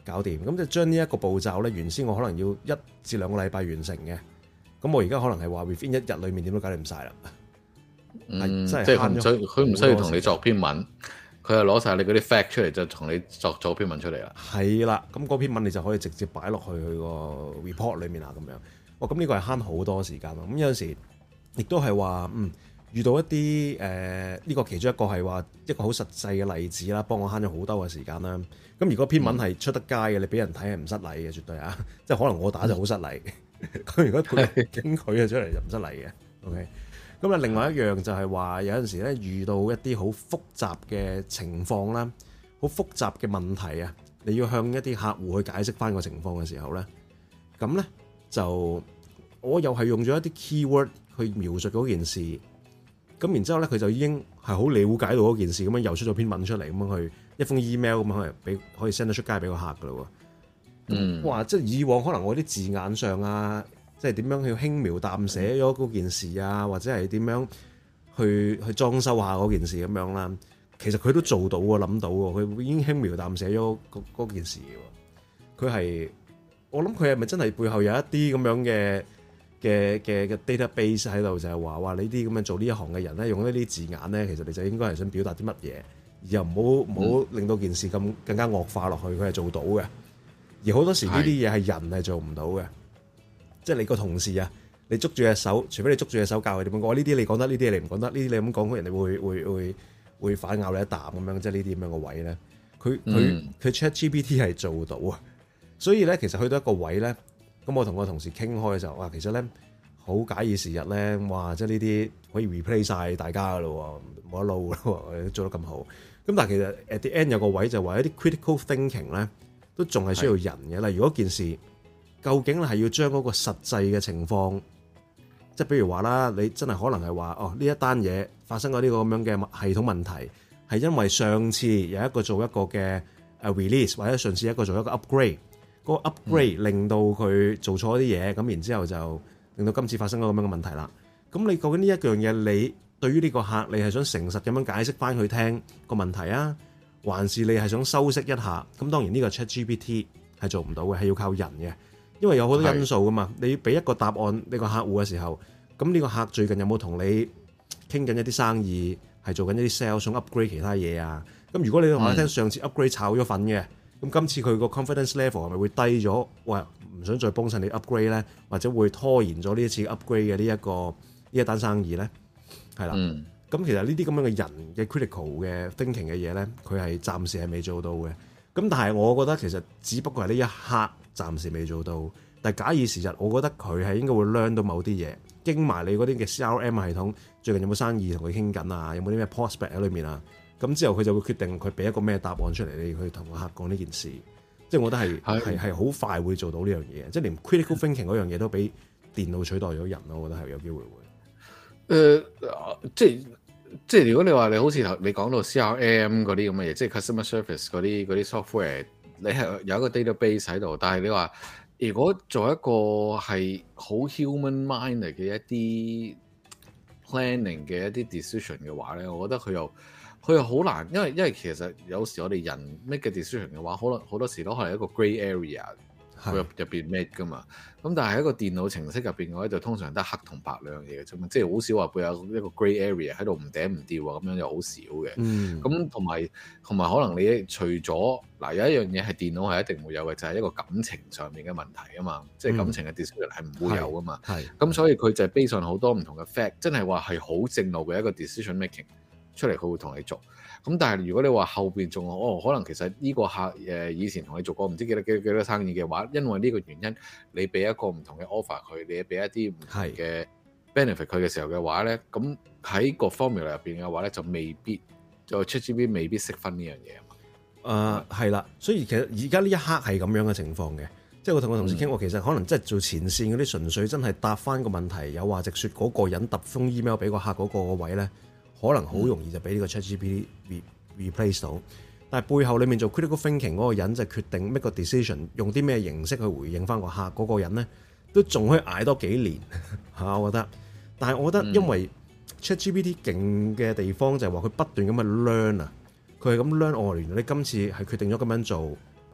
搞掂。咁就將呢一個步驟咧，原先我可能要1至2個禮拜完成嘅，咁我而家可能係話 within 1日裏面點都搞掂晒啦。 即係佢唔需要同你作篇文，佢就攞晒你嗰啲 fact 出嚟，就同你作篇文出嚟啦。 係啦，咁嗰篇文你就可以直接擺落去佢個 report 裏面啦，咁樣。哇，咁呢個係慳好多時間咯。咁有陣時亦都係話，遇到一啲呢個其中一個係話一個好實際嘅例子啦，幫我慳咗好多嘅時間啦。咁如果篇文係出得街嘅，你俾人睇係唔失禮嘅，絕對啊！即係可能我打就好失禮，佢如果經佢嘅出嚟就唔失禮嘅。OK。咁啊，另外一樣就係話有陣時咧遇到一啲好複雜嘅情況啦，好複雜嘅問題啊，你要向一啲客戶去解釋翻個情況嘅時候咧，咁咧就我又係用咗一啲 keyword 去描述嗰件事，咁然之後咧佢就已經係好了解到嗰件事，咁樣又出咗篇文出嚟，咁樣去一封 email 咁樣可以 send 得出街俾個客噶咯喎。哇！即係以往可能我啲字眼上啊〜即係點樣去輕描淡寫咗嗰件事啊，或者係點樣去裝修下嗰件事咁樣啦。其實佢都做到喎，諗到喎，佢已經輕描淡寫咗嗰件事嘅。佢係我諗佢係咪真係背後有一啲咁樣嘅 database 喺度，就係話呢啲咁樣做呢一行嘅人咧，用呢啲字眼咧，其實你就應該係想表達啲乜嘢，而又唔好令到件事更加惡化落去。佢係做到嘅，而好多時呢啲嘢係人係做唔到嘅。即係你個同事啊，你捉住隻手，除非你捉住隻手教佢點樣講，呢啲你講得，呢啲你唔講得，呢啲你咁講，人哋會反咬你一啖咁樣，即係呢啲咁樣個位咧，佢 ChatGPT 係做到啊，所以咧其實去到一個位咧，咁我同我同事傾開嘅時候，哇，其實咧好假以時日咧，哇，即係呢啲可以 replace 晒大家噶咯，冇得撈咯，做得咁好。咁但係其實 at the end 有個位就話一啲 critical thinking 咧，都仲係需要人嘅。例如嗰件事。究竟係要將嗰個實際嘅情況，即係譬如話啦，你真係可能係話，呢一單嘢發生咗呢個咁樣嘅系統問題，係因為上次有一個做一個嘅 release，或者上次一個做一個 upgrade，嗰個 upgrade 令到佢做錯啲嘢，咁然之後就令到今次發生咗咁樣嘅問題啦。咁你究竟呢一樣嘢，你對於呢個客，你係想誠實咁樣解釋翻佢聽個問題啊，還是你係想修飾一下？咁當然呢個 ChatGPT 係做唔到嘅，係要靠人嘅。因為有好多因素噶嘛，你俾一個答案呢個客戶嘅時候，咁呢個客最近有冇同你傾緊一啲生意，係做緊一啲 sales 想 upgrade 其他嘢啊？咁如果你話聽上次 upgrade 炒咗粉嘅，咁今次佢個 confidence level 係咪會低咗？喂，唔想再幫襯你 upgrade 咧，或者會拖延咗呢一次 upgrade 嘅呢一單生意咧？係啦，咁其實呢啲咁樣嘅人嘅 critical 嘅 thinking 嘅嘢咧，佢係暫時係未做到嘅。咁但係我覺得其實只不過係呢一刻。暫時未做到，但係假以時日，我覺得佢係應該會 learn 到某啲嘢，經埋你嗰啲嘅 CRM 系統，最近有冇生意同佢傾緊啊？有冇啲咩 prospect 喺裏面啊？咁之後佢就會決定佢俾一個咩答案出嚟，你去同個客講呢件事。即係我覺得係好快會做到呢樣嘢，即係連 critical thinking 嗰樣嘢都俾電腦取代咗人咯。我覺得係有機會會。 即係如果你話你好似你講到 CRM 嗰啲咁嘅嘢，即係 customer service 嗰啲 software。你係有一個 database 喺度，但係你話如果做一個係好 human mind 嘅一啲 planning 嘅一啲 decision 嘅話咧，我覺得佢又好難，因為其實有時我哋人 make 嘅 decision 嘅話，可能好多時都係一個 grey area 入邊 make 噶嘛。咁但係喺一個電腦程式入邊嘅話，就通常得黑同白兩樣嘢嘅啫嘛，即係好少話會有一個 grey area 喺度唔頂唔掉啊，咁樣又好少嘅。咁同埋可能你除咗嗱有一樣嘢係電腦係一定會有嘅，就係一個感情上面嘅問題啊嘛，即係感情嘅 decision 係唔會有噶嘛。咁所以佢就係 base on好多唔同嘅 fact，真係話係好正路嘅一個 decision making 出嚟，佢會同你做。咁但係如果你話後邊仲可能其實呢個客以前同你做過唔知幾多生意嘅話，因為呢個原因你俾一個唔同嘅 offer 佢，你俾一啲唔同嘅 benefit 佢嘅時候嘅話咧，咁喺個 formula 入邊嘅話咧就未必就 ChatGPT 未必識分呢樣嘢啊嘛。 係啦，所以其實而家呢一刻係咁樣嘅情況嘅，即係我同我同事傾過，其實可能即係做前線嗰啲純粹真係答翻個問題，有話直説嗰個人揼封 email 俾個客嗰個位咧。可能好容易就俾呢個 ChatGPT replace 到，但係背後裡面做 critical thinking 嗰個人就決定 make 個 decision，用啲咩形式去回應翻個客嗰個人咧，都仲可以捱多幾年嚇，我覺得。但係我覺得因為 ChatGPT 勁嘅地方就係話佢不斷咁去 learn 啊，佢係咁 learn。原來你今次係決定咗咁樣做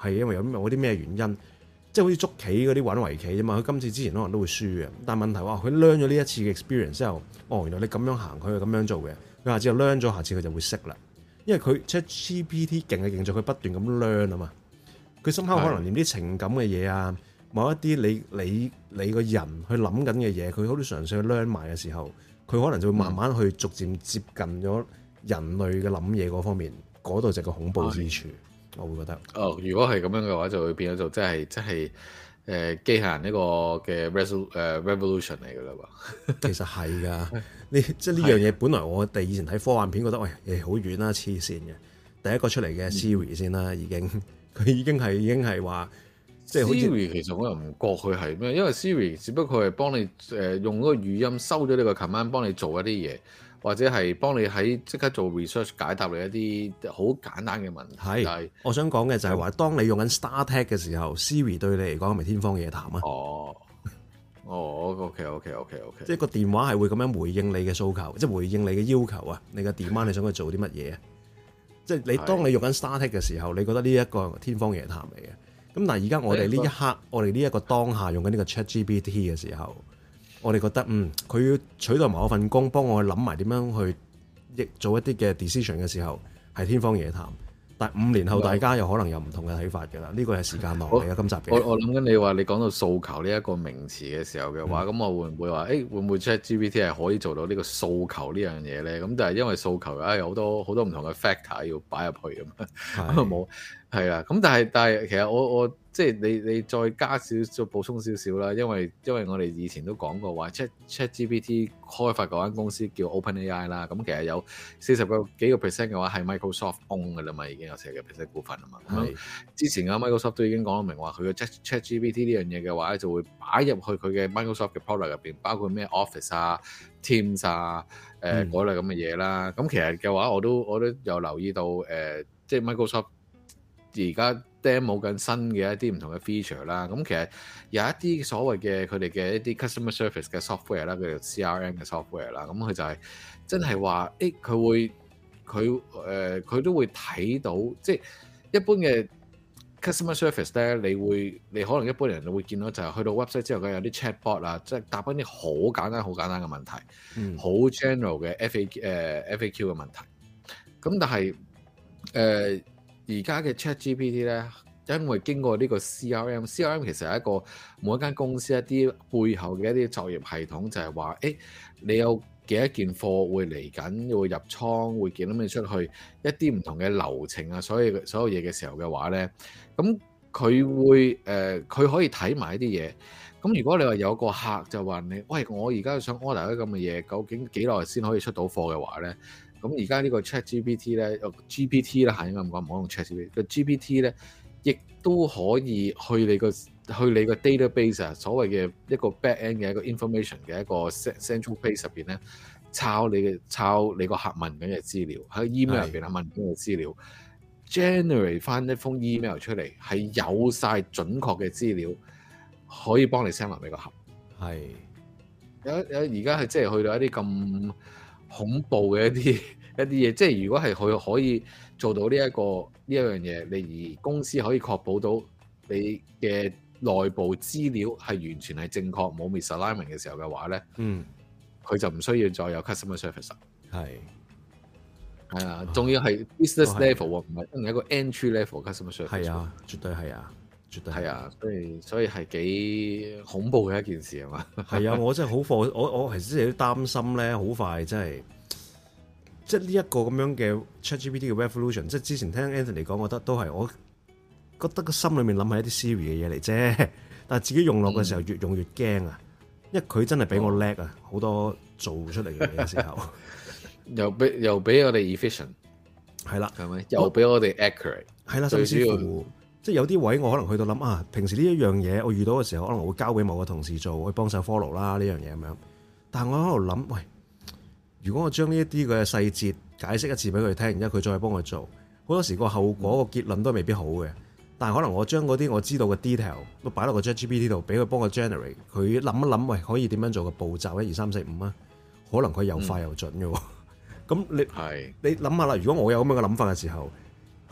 係因為有啲咩原因，即係好似捉棋嗰啲玩圍棋啫嘛。佢今次之前可能都會輸嘅，但係問題話佢 learn 咗呢一次嘅 experience 之後，原來你咁樣行，佢係咁樣做嘅，佢下次就 learn 咗，下次佢就會識啦。因為佢 ChatGPT 勁嘅勁在佢不斷咁 learn 啊嘛，佢深刻可能連啲情感嘅嘢啊，某一啲你個人去諗緊嘅嘢，佢好似嘗試去 learn 埋嘅時候，佢可能就會慢慢去逐漸接近咗人類嘅諗嘢嗰方面，嗰度就係個恐怖之處，我會覺得。 如果係咁樣嘅話，就會變咗做即係機械人呢個嘅 revolution 嚟㗎啦喎。 其實係㗎，即係呢樣嘢，本來我哋以前睇科幻片覺得好遠啦，黐線嘅。第一個出嚟嘅 Siri 先啦，佢已經係話，即係 Siri 其實我又唔覺佢係咩，因為 Siri 只不過係幫你用嗰個語音收咗呢個 command，幫你做一啲嘢，或者係幫你喺即刻做 research 解答你一啲好簡單嘅問題。係， 我想講嘅就係話，當你用緊 StarTech 嘅時候，Siri 對你嚟講係咪天方夜譚啊？ OK， 即係個電話係會咁樣回應你嘅訴求，即係回應你嘅要求啊！你嘅 demand 你想佢做啲乜嘢啊？即係你當你用緊 StarTech 嘅時候，你覺得呢一個天方夜譚嚟嘅。咁但係而家我哋呢一刻，我哋呢一個當下用緊呢個 ChatGPT 嘅時候，我哋覺得佢要取代埋我份工，幫我去諗埋點樣去做一啲嘅 decision 嘅時候，係天方夜譚。但係5年後大家又可能有唔同嘅睇法㗎啦。呢個係時間落嚟嘅今集嘅。 我諗緊你話你講到訴求呢一個名詞嘅時候嘅話，咁我會唔會話會唔會 ChatGPT 係可以做到呢個訴求呢樣嘢咧？咁但係因為訴求有好多唔同嘅 factor 要擺入去咁啊冇。係啊，咁但係其實我即係你再加少補充少少啦，因為我哋以前都講過話 ChatGPT 開發嗰間公司叫 OpenAI 啦，咁其實有40幾個 percent 嘅話係 Microsoft own 㗎啦嘛，已經有40個 percent 股份啊嘛。咁之前嘅 Microsoft 都已經講明話佢嘅 ChatGPT 呢樣嘢嘅話就會擺入去佢嘅 Microsoft 嘅 product 入邊，包括咩 Office 啊、Teams 啊、嗰類咁嘅嘢啦。咁其實嘅話我都有留意到即係 Microsoft。而家 demo 緊新嘅一啲唔同嘅 feature 啦，咁其實有一啲所謂嘅佢哋嘅一啲 customer service 嘅 software 啦，叫做 CRM 嘅 software 啦，咁佢就係真係話，佢都會睇到，即係一般嘅 customer service 咧，你可能一般人會見到就係去到 website 之後，佢有啲 chatbot 啊，即係答翻啲好簡單嘅問題，好 general 嘅 FAQ 嘅問題，咁但係而家嘅 ChatGPT 咧，因為經過呢個 CRM 其實係一個每一間公司一啲背後嘅一啲作業系統，就係話，你有幾多件貨會嚟緊，會入倉，會幾多咩出去，一啲唔同嘅流程啊，所有嘢嘅時候嘅話咧，咁佢會佢可以睇埋一啲嘢。咁如果你話有個客就話你，喂，我而家想 order 啲咁嘅嘢，究竟幾耐先可以出到貨嘅話咧？咁而家呢個 ChatGPT 咧，GPT 啦嚇，應該咁講，唔好用 ChatGPT。個 GPT 咧，亦都可以去你個 database 啊，所謂嘅一個 back-end 嘅一個 information 嘅一個 central base 入邊咧，抄你個客問緊嘅資料，喺 email 入邊問緊嘅資料 ，generate 翻一封 email 出嚟，係有晒準確嘅資料，可以幫你 send 埋俾個客。 係有而家係即係去到一啲咁恐怖嘅一啲嘢，即係如果係佢可以做到呢一樣嘢，你而公司可以確保到你嘅內部資料係完全係正確，冇 misalignment 嘅時候嘅話咧，佢就唔需要再有 customer service。係啊，仲要係 business level 喎，唔係真係一個 entry level customer service。係啊， 絕對係啊。 係啊，所以係幾恐怖嘅一件事啊嘛。 係啊，我真係好貨，我其實真係都擔心咧，好快真係，即係呢一個咁樣嘅 ChatGPT 嘅 revolution，即係之前聽 Anthony 講，我覺得都係，我覺得個心裏面諗係一啲 Siri 嘅嘢嚟啫，但係自己用落嘅時候越用越驚啊，因為佢真係比我叻啊，好多做出嚟嘅嘢嘅時候，又比我哋 efficient， 係啦，係咪？又比我哋 accurate， 係啦，最主要。即係有啲位我可能去到諗啊，平時呢一樣嘢我遇到嘅時候，可能會交俾某個同事做，去幫手 follow 啦呢樣嘢咁樣。但係我喺度諗，喂，如果我將呢一啲嘅細節解釋一次俾佢聽，然之後佢再幫佢做，好多時個後果個結論都未必好嘅。但係可能我將嗰啲我知道嘅 detail 都擺落個 ChatGPT 度，俾佢幫我 generate，佢諗一諗，喂，可以點樣做個步驟1、2、3、4、5啊？可能佢又快又準嘅喎。咁你諗下啦，如果我有咁樣嘅諗法嘅時候，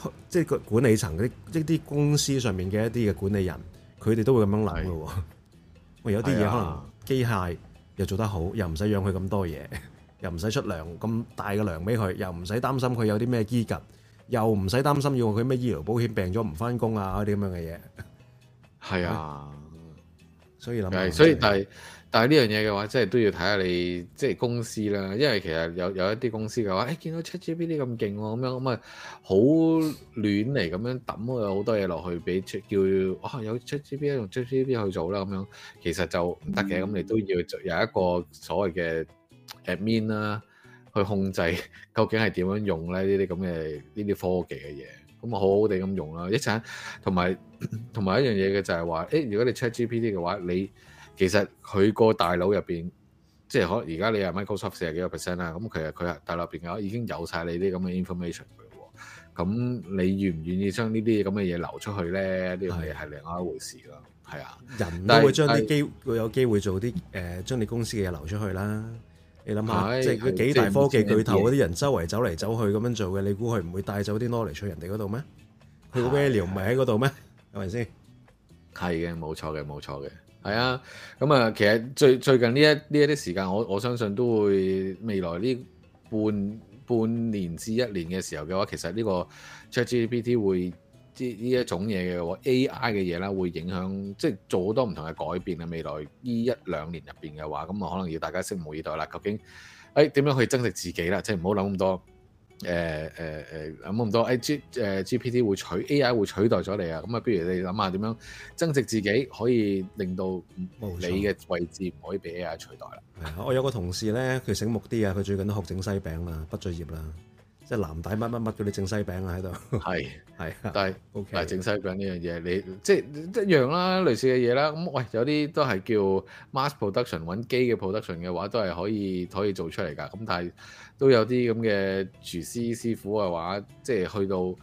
即係個管理層一啲公司上面嘅一啲嘅管理人，佢哋都會咁樣諗嘅喎。喂，有啲嘢可能機械又做得好，又唔使養佢咁多嘢，又唔使出糧咁大嘅糧俾佢，又唔使擔心佢有啲咩醫疾，又唔使擔心要佢咩醫療保險病咗唔翻工啊嗰啲咁樣嘅嘢。 係啊， 所以諗， 所以但係呢樣嘢嘅話，即係都要睇下你即係公司啦。因為其實有一啲公司嘅話，見到 ChatGPT 咁勁喎，咁啊好亂嚟咁樣抌好多嘢落去俾叫有 ChatGPT 用 ChatGPT 去做啦咁樣，其實就唔得嘅。咁你都要有一個所謂嘅 admin 啦，去控制究竟係點樣用咧呢啲咁嘅呢啲科技嘅嘢。咁啊好好地咁用啦，一陣同埋一樣嘢嘅就係話，如果你 ChatGPT 嘅話，你其實佢個大腦入邊，即係可能而家你係 Microsoft 40幾個 percent 啦，咁其實佢大腦入邊嘅話已經有晒你啲咁嘅 information 嘅喎。咁你願唔願意將呢啲咁嘅嘢流出去咧？呢樣嘢係另外一回事咯。係啊， 人都會將啲會有機會做啲將你公司嘅嘢流出去啦。你諗下，即係幾大科技巨頭嗰啲人周圍走嚟走去咁樣做嘅，你估佢唔會帶走啲 knowledge 去人哋嗰度咩？佢個 value 唔係喺嗰度咩？係咪先？係嘅，冇錯嘅。係啊，咁啊，其實最近呢一啲時間，我相信都會未來呢半年至一年嘅時候嘅話，其實呢個 ChatGPT 會呢一種嘢嘅話 AI 嘅嘢啦，會影響即係做好多唔同嘅改變啊！未來呢1-2年入邊嘅話，咁啊可能要大家拭目以待啦。究竟點樣去增值自己啦？即係唔好諗咁多諗咁多GPT 會AI 會取代咗你啊！咁啊，不如你諗下點樣增值自己，可以令到你嘅位置唔可以被 AI 取代啦。 係啊，我有個同事咧，佢醒目啲啊，佢最近都學整西餅啦，畢咗業啦。即係藍帶乜乜嗰啲整西餅啊喺度，係，但係整西餅呢樣嘢，你即係一樣啦，類似嘅嘢啦。咁喂，有啲都係叫 mass production 揾機嘅 production 嘅話，都係可以做出嚟㗎。咁但係都有啲咁嘅廚師師傅嘅話，即係去到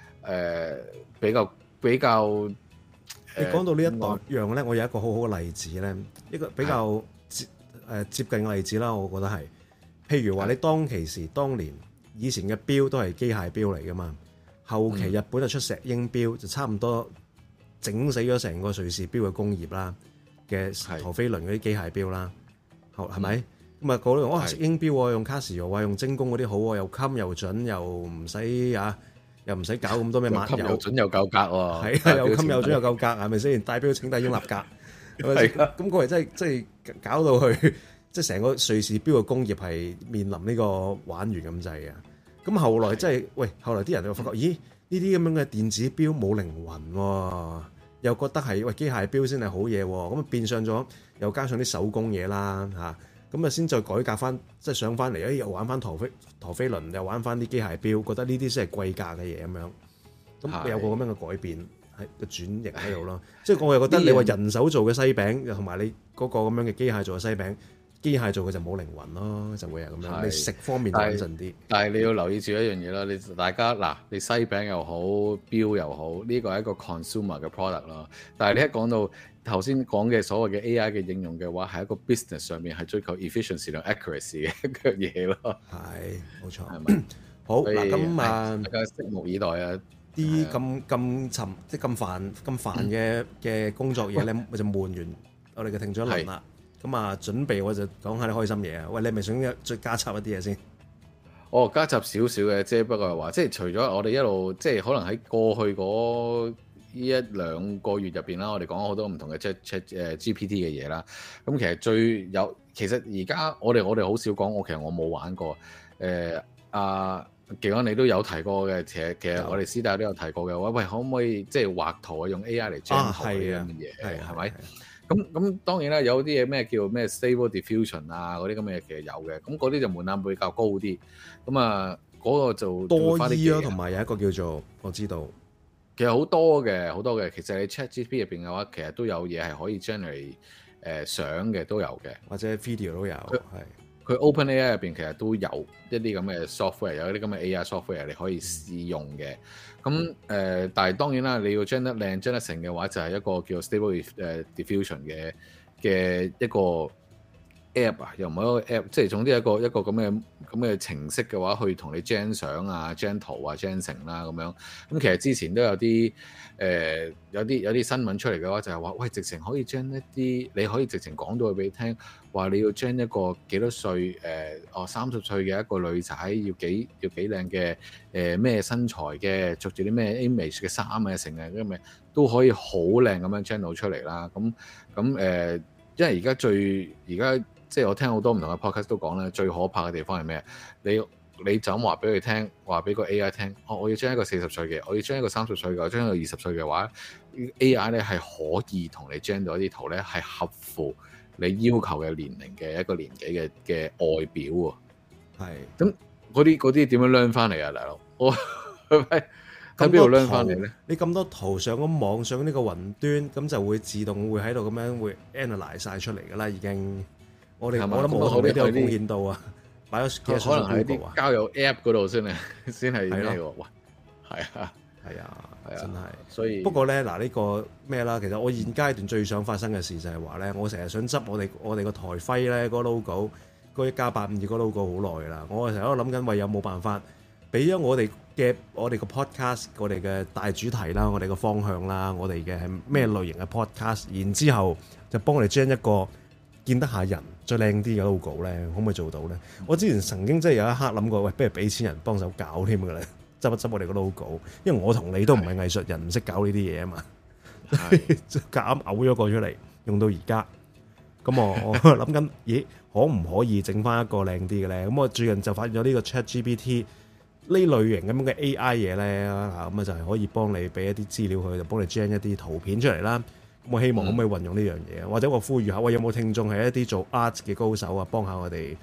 比較。 你講到呢一樣咧，我有一個好好嘅例子咧，一個比較接近嘅例子啦，我覺得係，譬如話你當年。以前嘅錶都係機械錶嚟噶嘛，後期日本就出石英錶，就差唔多整死咗成個瑞士錶嘅工業啦嘅陀飛輪嗰啲機械錶啦，係咪？咁啊嗰度石英錶用卡西歐用精工嗰啲好，又襟又準，又唔使搞咁多咩抹油， 又準又夠格喎， 係啊，又襟又準又夠格，係咪先？戴錶請戴英立格，係咪先？咁嗰日真係搞到去。即係成個瑞士錶嘅工業係面臨呢個玩完咁滯嘅，咁後來即係後來啲人就發覺，咦呢啲咁樣嘅電子錶冇靈魂喎，又覺得係機械錶先係好嘢喎，咁啊變相咗又加上啲手工嘢啦嚇，咁啊先再改革翻，即係上翻嚟，又玩翻陀飛輪，又玩翻啲機械錶，覺得呢啲先係貴價嘅嘢咁樣，咁有個咁樣嘅改變係個轉型喺度咯，即係我又覺得你話人手做嘅西餅，同埋你嗰個咁樣嘅機械做嘅西餅。機械做嘅就冇靈魂咯，就會係咁樣。你食方面就穩陣啲。但係你要留意住一樣嘢啦，大家嗱，你西餅又好，錶又好，呢個係一個 consumer 嘅 product 咯。但係你一講到頭先講嘅所謂嘅 AI 嘅應用嘅話，係一個 business 上面係追求 efficiency 同 accuracy 嘅一樣嘢咯。係，冇錯，係咪？好嗱，咁大家拭目以待啊！啲咁即係咁煩嘅工作嘢咧，就悶完我哋嘅聽咗一輪啦。咁啊，準備我就講下啲開心嘢啊！喂，你係咪想再加插一啲嘢先？加插少少嘅，即係不過係話，即係除咗我哋一路，即係可能喺過去嗰呢1-2個月入邊啦，我哋講咗好多唔同嘅GPT 嘅嘢啦。咁其實而家我哋好少講，其實我冇玩過。技安你都有提過嘅，其實我哋師弟都有提過嘅。喂，可唔可以即係畫圖用 AI 嚟 generate 圖呢樣嘢？係咪？咁當然啦，有啲嘢咩叫咩 Stable Diffusion 啊，嗰啲咁嘅嘢其實有嘅，咁嗰啲就門檻會比較高啲。咁啊，嗰個就多醫咯，同埋有一個叫做我知道，其實好多嘅。其實你 ChatGPT 入邊嘅話，其實都有嘢係可以 generate 相嘅都有嘅，或者 video 都有。佢 OpenAI 入邊其實都有一啲咁嘅 software， 有一啲咁嘅 AI software 你可以試用嘅。咁但係當然啦，你要將得靚、將得成嘅話，就係一個叫 Stable Diffusion 嘅一個 app 啊，又唔係一個 app，即係總之一個咁嘅程式嘅話，去同你 gen 相啊、gen 圖啊、gen 成啦咁樣。咁其實之前都有啲有啲新聞出嚟嘅話，就係話喂，直情可以 gen 一啲，你可以直情講到佢俾你聽，話你要 gen 一個幾多歲30歲嘅一個女仔，要幾靚嘅咩身材嘅，着住啲咩 image 嘅衫啊，成日咁咪都可以好靚咁樣 gen 到出嚟啦。咁因為而家即係我聽好多唔同嘅 podcast 都講咧，最可怕嘅地方係咩？你就咁話俾佢聽，話俾個 AI 聽，我要將一個40歲嘅，我要將一個30歲嘅，我將一個20歲嘅話 ，AI 咧係可以同你 gen 到一啲圖咧，係合乎你要求嘅年齡嘅一個年紀嘅外表喎。係。咁嗰啲點樣 learn 翻嚟啊，大佬？我喺邊度 learn 翻嚟咧？ 你咁多圖上咗網上呢個雲端，咁就會自動會喺度咁樣會 analyze 晒出嚟㗎啦，已經。我諗我同你都有貢獻到啊！擺咗幾可能喺啲交友 app 嗰度先係咩喎？哇！係啊，真係。所以不過咧，嗱呢個咩啦？其實我現階段最想發生嘅事就係話咧，我成日想執我哋個台徽咧，個 logo 嗰1+852個 logo 好耐啦。我成日喺度諗緊，喂有冇辦法俾咗我哋個 podcast， 我哋嘅大主題啦，我哋個方向啦，我哋嘅係咩類型嘅 podcast， 然之後就幫我哋將一個見得下人再靚啲嘅 logo 咧，可唔可以做到咧？我之前曾經真係有一刻諗過，喂，不如俾錢人幫手搞添㗎啦，執一執我哋個 logo， 因為我同你都唔係藝術人，唔識搞呢啲嘢啊嘛，就夾硬嘔咗個出嚟，用到而家。咁我諗緊，咦，可唔可以整翻一個靚啲嘅咧？咁我最近就發現咗呢個 ChatGPT 呢類型咁樣嘅 AI 嘢咧，咁啊就係可以幫你俾一啲資料佢，就幫你 gen 一啲圖片出嚟啦。我希望可唔可以運用呢樣嘢，或者我呼籲下，喂，有冇聽眾係一啲做 art 嘅高手啊，幫下我哋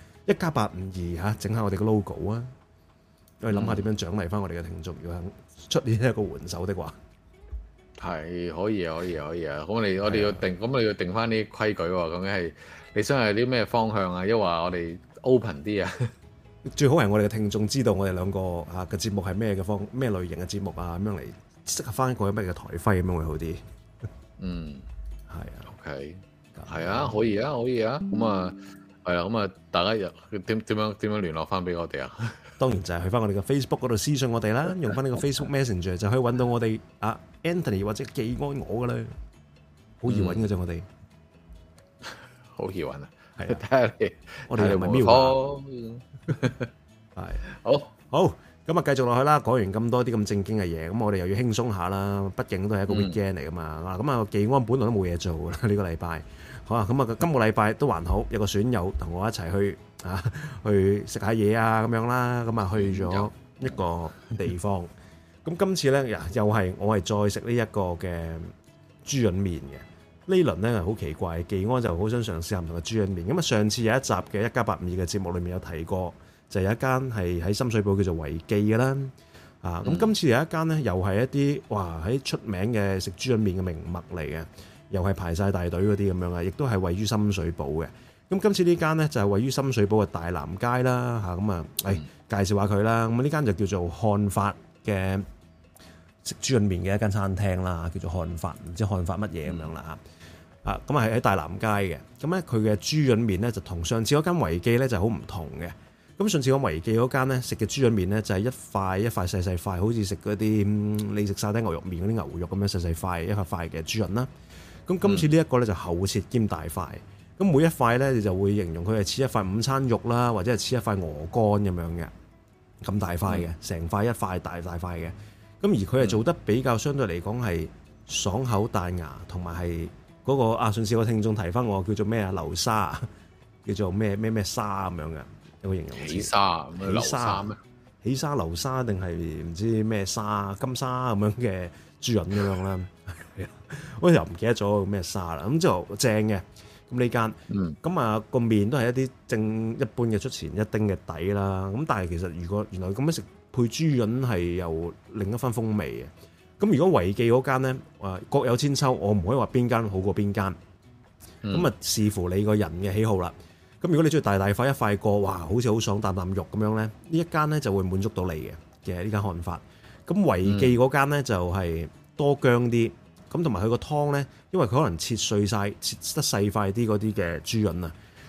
1+852嚇，整下我哋個 logo 啊，我哋諗下點樣獎勵翻我哋嘅聽眾，如果肯出呢一個援手的話， 係可以啊。咁我哋要定，咁我哋要定翻啲規矩喎。咁樣係你想係啲咩方向啊？抑或我哋 open 啲啊？最好係我哋嘅聽眾知道我哋兩個嘅節目係咩類型嘅節目啊，咁樣嚟適合翻一個咩嘅台徽咁樣會好啲。係啊 ，OK， 係啊，可以啊。咁啊，係啊，咁啊，大家點樣聯絡翻俾我哋啊？當然就係去翻我哋嘅 Facebook 嗰度私信我哋啦，用翻呢個 Facebook Messenger 就可以揾到我哋Anthony 或者技安我噶啦，好易揾嘅啫，我哋好易揾啊，係啊，睇下你，我哋又唔係瞄下，係好。咁啊，繼續落去啦。講完咁多啲咁正經嘅嘢，咁我哋又要輕鬆下啦。畢竟都係一個 weekend 嚟噶嘛。咁啊，技安本來都冇嘢做噶啦，呢個禮拜。好啊，咁啊，今個禮拜都還好，有個損友同我一齊去食下嘢啊，咁樣啦。咁啊，去咗一個地方。咁今次咧，又係我係再食呢一個嘅豬潤麵嘅。呢輪咧係好奇怪，技安就好想嘗試下唔同嘅豬潤麵。咁啊，上次有一集嘅1+852嘅節目裏面有提過。就有一間係喺深水埗叫做維記嘅啦，咁今次有一間咧，又係一啲喺出名嘅食豬潤麵嘅名物嚟嘅，又係排晒大隊嗰啲咁樣啊，亦都係位於深水埗嘅。咁今次呢間咧就係位於深水埗嘅大南街啦，咁啊，介紹下佢啦。咁呢間就叫做漢發嘅食豬潤麵嘅一間餐廳啦，叫做漢發，唔知漢發乜嘢咁樣啦咁啊係喺大南街嘅。咁咧佢嘅豬潤麵咧就同上次嗰間維記咧就好唔同嘅。咁上次我維記嗰間咧食嘅豬潤麵咧就係一塊一塊細細塊，好似食嗰啲你食沙爹牛肉麵嗰啲牛肉咁樣細細塊一塊塊嘅豬潤啦。咁今次呢一個咧就厚切兼大塊，咁每一塊咧你就會形容佢係似一塊午餐肉啦，或者係似一塊鵝肝咁樣嘅，咁大塊嘅，成塊一塊大塊嘅。咁而佢係做得比較相對嚟講係爽口彈牙，同埋係嗰個上次個聽眾提翻我叫做咩流沙，叫做咩沙咁樣嘅。有個形容詞，起沙流沙定係唔知咩沙金沙咁樣嘅豬潤咁樣啦，我又唔記得咗咩沙啦。咁之後正嘅，咁呢間，咁啊個麵都係一啲正一般嘅出前一丁嘅底啦。咁但係其實如果原來咁樣食配豬潤係有另一番風味嘅。咁如果維記嗰間咧，各有千秋，我唔可以話邊間好過邊間。咁啊視乎你個人嘅喜好啦。咁如果你中意大大塊一塊過，哇，好似好爽啖啖肉咁樣咧，呢一間咧就會滿足到你嘅呢間漢發。咁維記嗰間咧就係多薑啲，咁同埋佢個湯咧，因為佢可能切碎晒，切得細塊啲嗰啲嘅豬潤啊，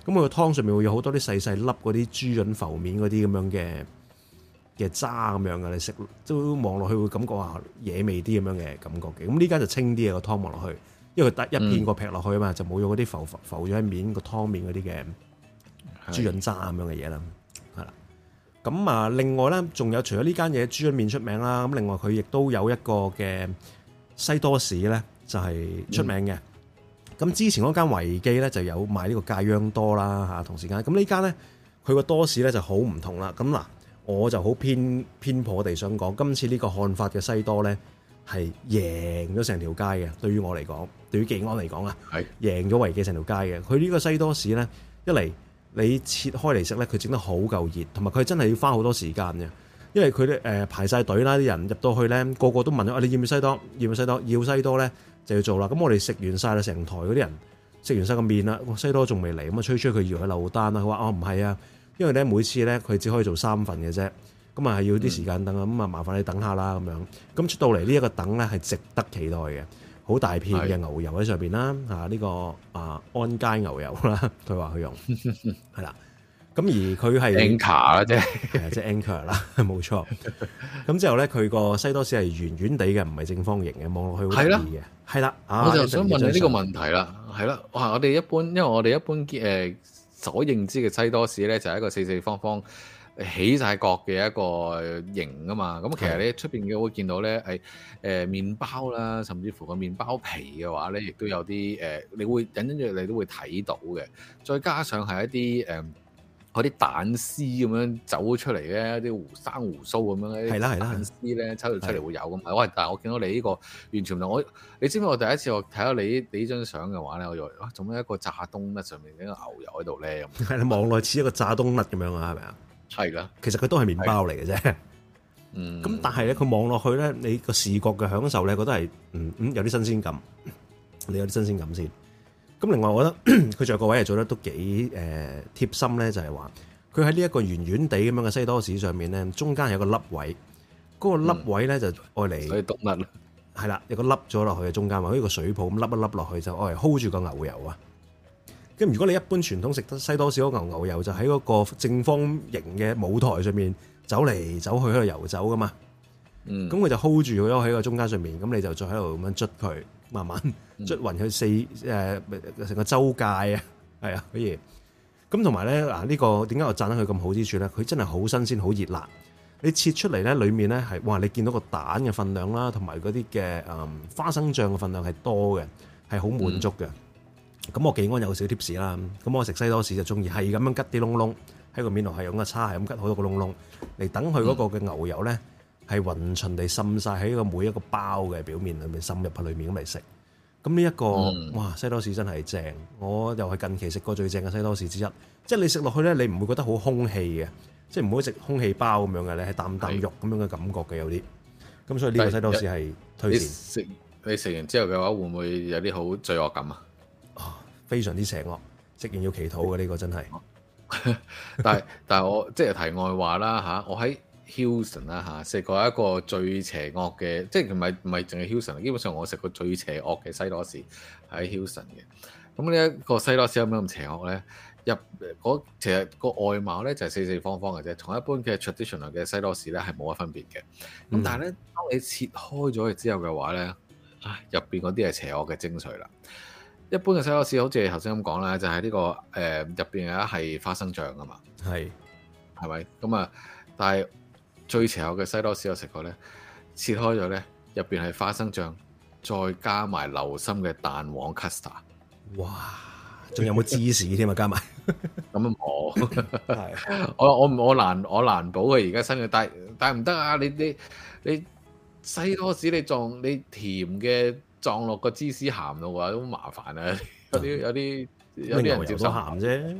咁佢個湯上面會有好多啲細細粒嗰啲豬潤浮面嗰啲咁樣嘅渣咁樣嘅，你食都望落去會感覺話野味啲咁樣嘅感覺嘅。咁呢間就清啲嘅個湯望落去，因為佢得一片過劈落去啊嘛，就冇咗嗰啲浮咗喺面個湯面嗰啲嘅豬潤渣咁樣嘅嘢啦，係啦。咁啊，另外咧仲有除咗呢間嘢豬潤麵出名啦，咁另外佢亦都有一個嘅西多士咧，就係出名嘅。咁之前嗰間維記咧就有賣呢個芥央多啦嚇，同時間咁呢間咧佢個多士咧就好唔同啦。咁嗱，我就好偏頗地想講，今次呢個漢法嘅西多咧係贏咗成條街嘅。對於我嚟講，對於技安嚟講啊，係贏咗維記成條街嘅。佢呢個西多士咧，一嚟你切開嚟食咧，佢整得好夠熱，同埋佢真係要花好多時間嘅，因為佢咧排晒隊啦，啲人入到去咧個個都問咗，你要唔要西多？要唔要西多？要西多咧。就要做啦，咁我哋食完晒啦，成台嗰啲人食完晒個麵啦，西多仲未嚟，咁啊吹佢以為佢漏單啦，佢話唔係啊，因為咧每次咧佢只可以做3份嘅啫，咁啊係要啲時間等啊，咁啊麻煩你等下啦咁樣，咁出到嚟呢一個等咧係值得期待嘅，好大片嘅牛油喺上邊啦，呢個安佳牛油啦，佢話佢用係啦。咁而佢係 anchor 啦，即係 anchor 啦，冇錯。咁之後咧，佢個西多士係圓圓地嘅，唔係正方形嘅，望落去好得意嘅。係啦，我就想問你呢個問題啦。係啦，哇！我哋一般，因為我哋一般所認知嘅西多士咧，就係一個四四方方起晒角嘅一個形啊嘛。咁其實你出邊嘅會見到咧係麵包啦，甚至乎個麵包皮嘅話咧，亦都有啲你會隱隱約你都會睇到嘅。再加上係一啲嗰啲蛋絲咁樣走出嚟嘅，啲生胡鬚咁樣咧，蛋絲咧抽出嚟會有咁。喂，但係我見到你呢個完全唔同。你知唔知我第一次我睇到你呢張相嘅話咧，我以為哇，做咩一個炸冬甩上面一個牛油喺度咧？係啦，望落似一個炸冬甩咁樣啊，係咪啊？係啦，其實佢都係麵包嚟嘅啫。咁但係咧，佢望落去咧，你個視覺嘅享受咧，覺得係有啲新鮮感。你有啲新鮮感先。咁另外，我覺得佢仲有個位係做得都幾貼心咧，就係話佢喺呢一個圓圓地咁樣嘅西多士上面咧，中間有個粒位，嗰個粒位咧就愛嚟，所以獨粒係啦，有個粒咗落去嘅中間，好似個水泡咁粒一粒落去，就愛嚟 hold 住個牛油啊。咁如果你一般傳統食得西多士嗰牛油就喺嗰個正方形嘅舞台上面走嚟走去喺度遊走噶嘛，咁佢就 hold 住咗喺個中間上面，咁你就再喺度咁樣捽佢。慢慢捽勻佢成個周界啊，係啊，可以。咁同埋咧嗱，呢個點解我讚得佢咁好之處咧？佢真係好新鮮，好熱辣。你切出嚟咧，裡面咧係哇，你見到個蛋嘅份量啦，同埋嗰啲嘅花生醬嘅份量係多嘅，係好滿足嘅。咁我技安有少 tips 啦。咁我食西多士就中意係咁樣吉啲窿窿喺個面度，係用個叉係咁吉好多個窿窿嚟等佢嗰個嘅牛油咧。係勻循地滲晒喺個每一個包嘅表面裏面，滲入去裏面咁嚟食。咁呢一個哇西多士真係正，我又係近期食過最正嘅西多士之一。即係你食落去咧，你唔會覺得好空氣嘅，即係唔會食空氣包咁樣嘅，你係啖啖肉咁樣嘅感覺嘅有啲。咁所以呢個西多士係推薦。你食完之後嘅話，會唔會有啲好罪惡感啊？非常之邪惡，食完要祈禱嘅呢個真係。但係我即係題外話啦嚇，我喺Hilton 啦嚇，食過一個最邪惡嘅，即係唔係淨係 Hilton，基本上我食過最邪惡嘅西多士喺 Hilton 嘅。咁呢一個西多士有咩咁邪惡咧？其實個外貌咧就係四四方方嘅啫，同一般嘅 traditional 嘅西多士咧係冇乜分別嘅。咁但係咧，當你切開咗佢之後嘅話咧，入邊嗰啲係邪惡嘅精髓啦。一般嘅西多士好似頭先咁講啦，就係呢個入邊有一係花生醬啊嘛，係咪？咁啊，但係最邪惡嘅西多士我食過咧，切開咗咧，入邊係花生醬，再加埋流心嘅蛋黃 custard。哇！仲有冇芝士添啊？加埋咁啊冇。我難保佢而家新嘅，但係唔得啊！你西多士你甜嘅撞落個芝士鹹度嘅話都麻煩啊！有啲人接受鹹啫。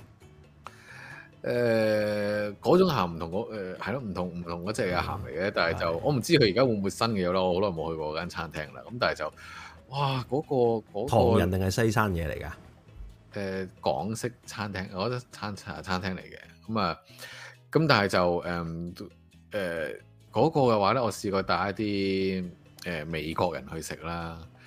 嗰種鹹唔同係咯，唔同嗰隻嘅鹹嚟嘅，但係就我唔知佢而家會唔會新嘅有啦，我好耐冇去過嗰間餐廳啦。咁但係就哇嗰個唐人定係西餐嘢嚟㗎？港式餐廳，我覺得餐廳嚟嘅。咁但係就嗰個嘅話咧，我試過帶一啲美國人去食啦。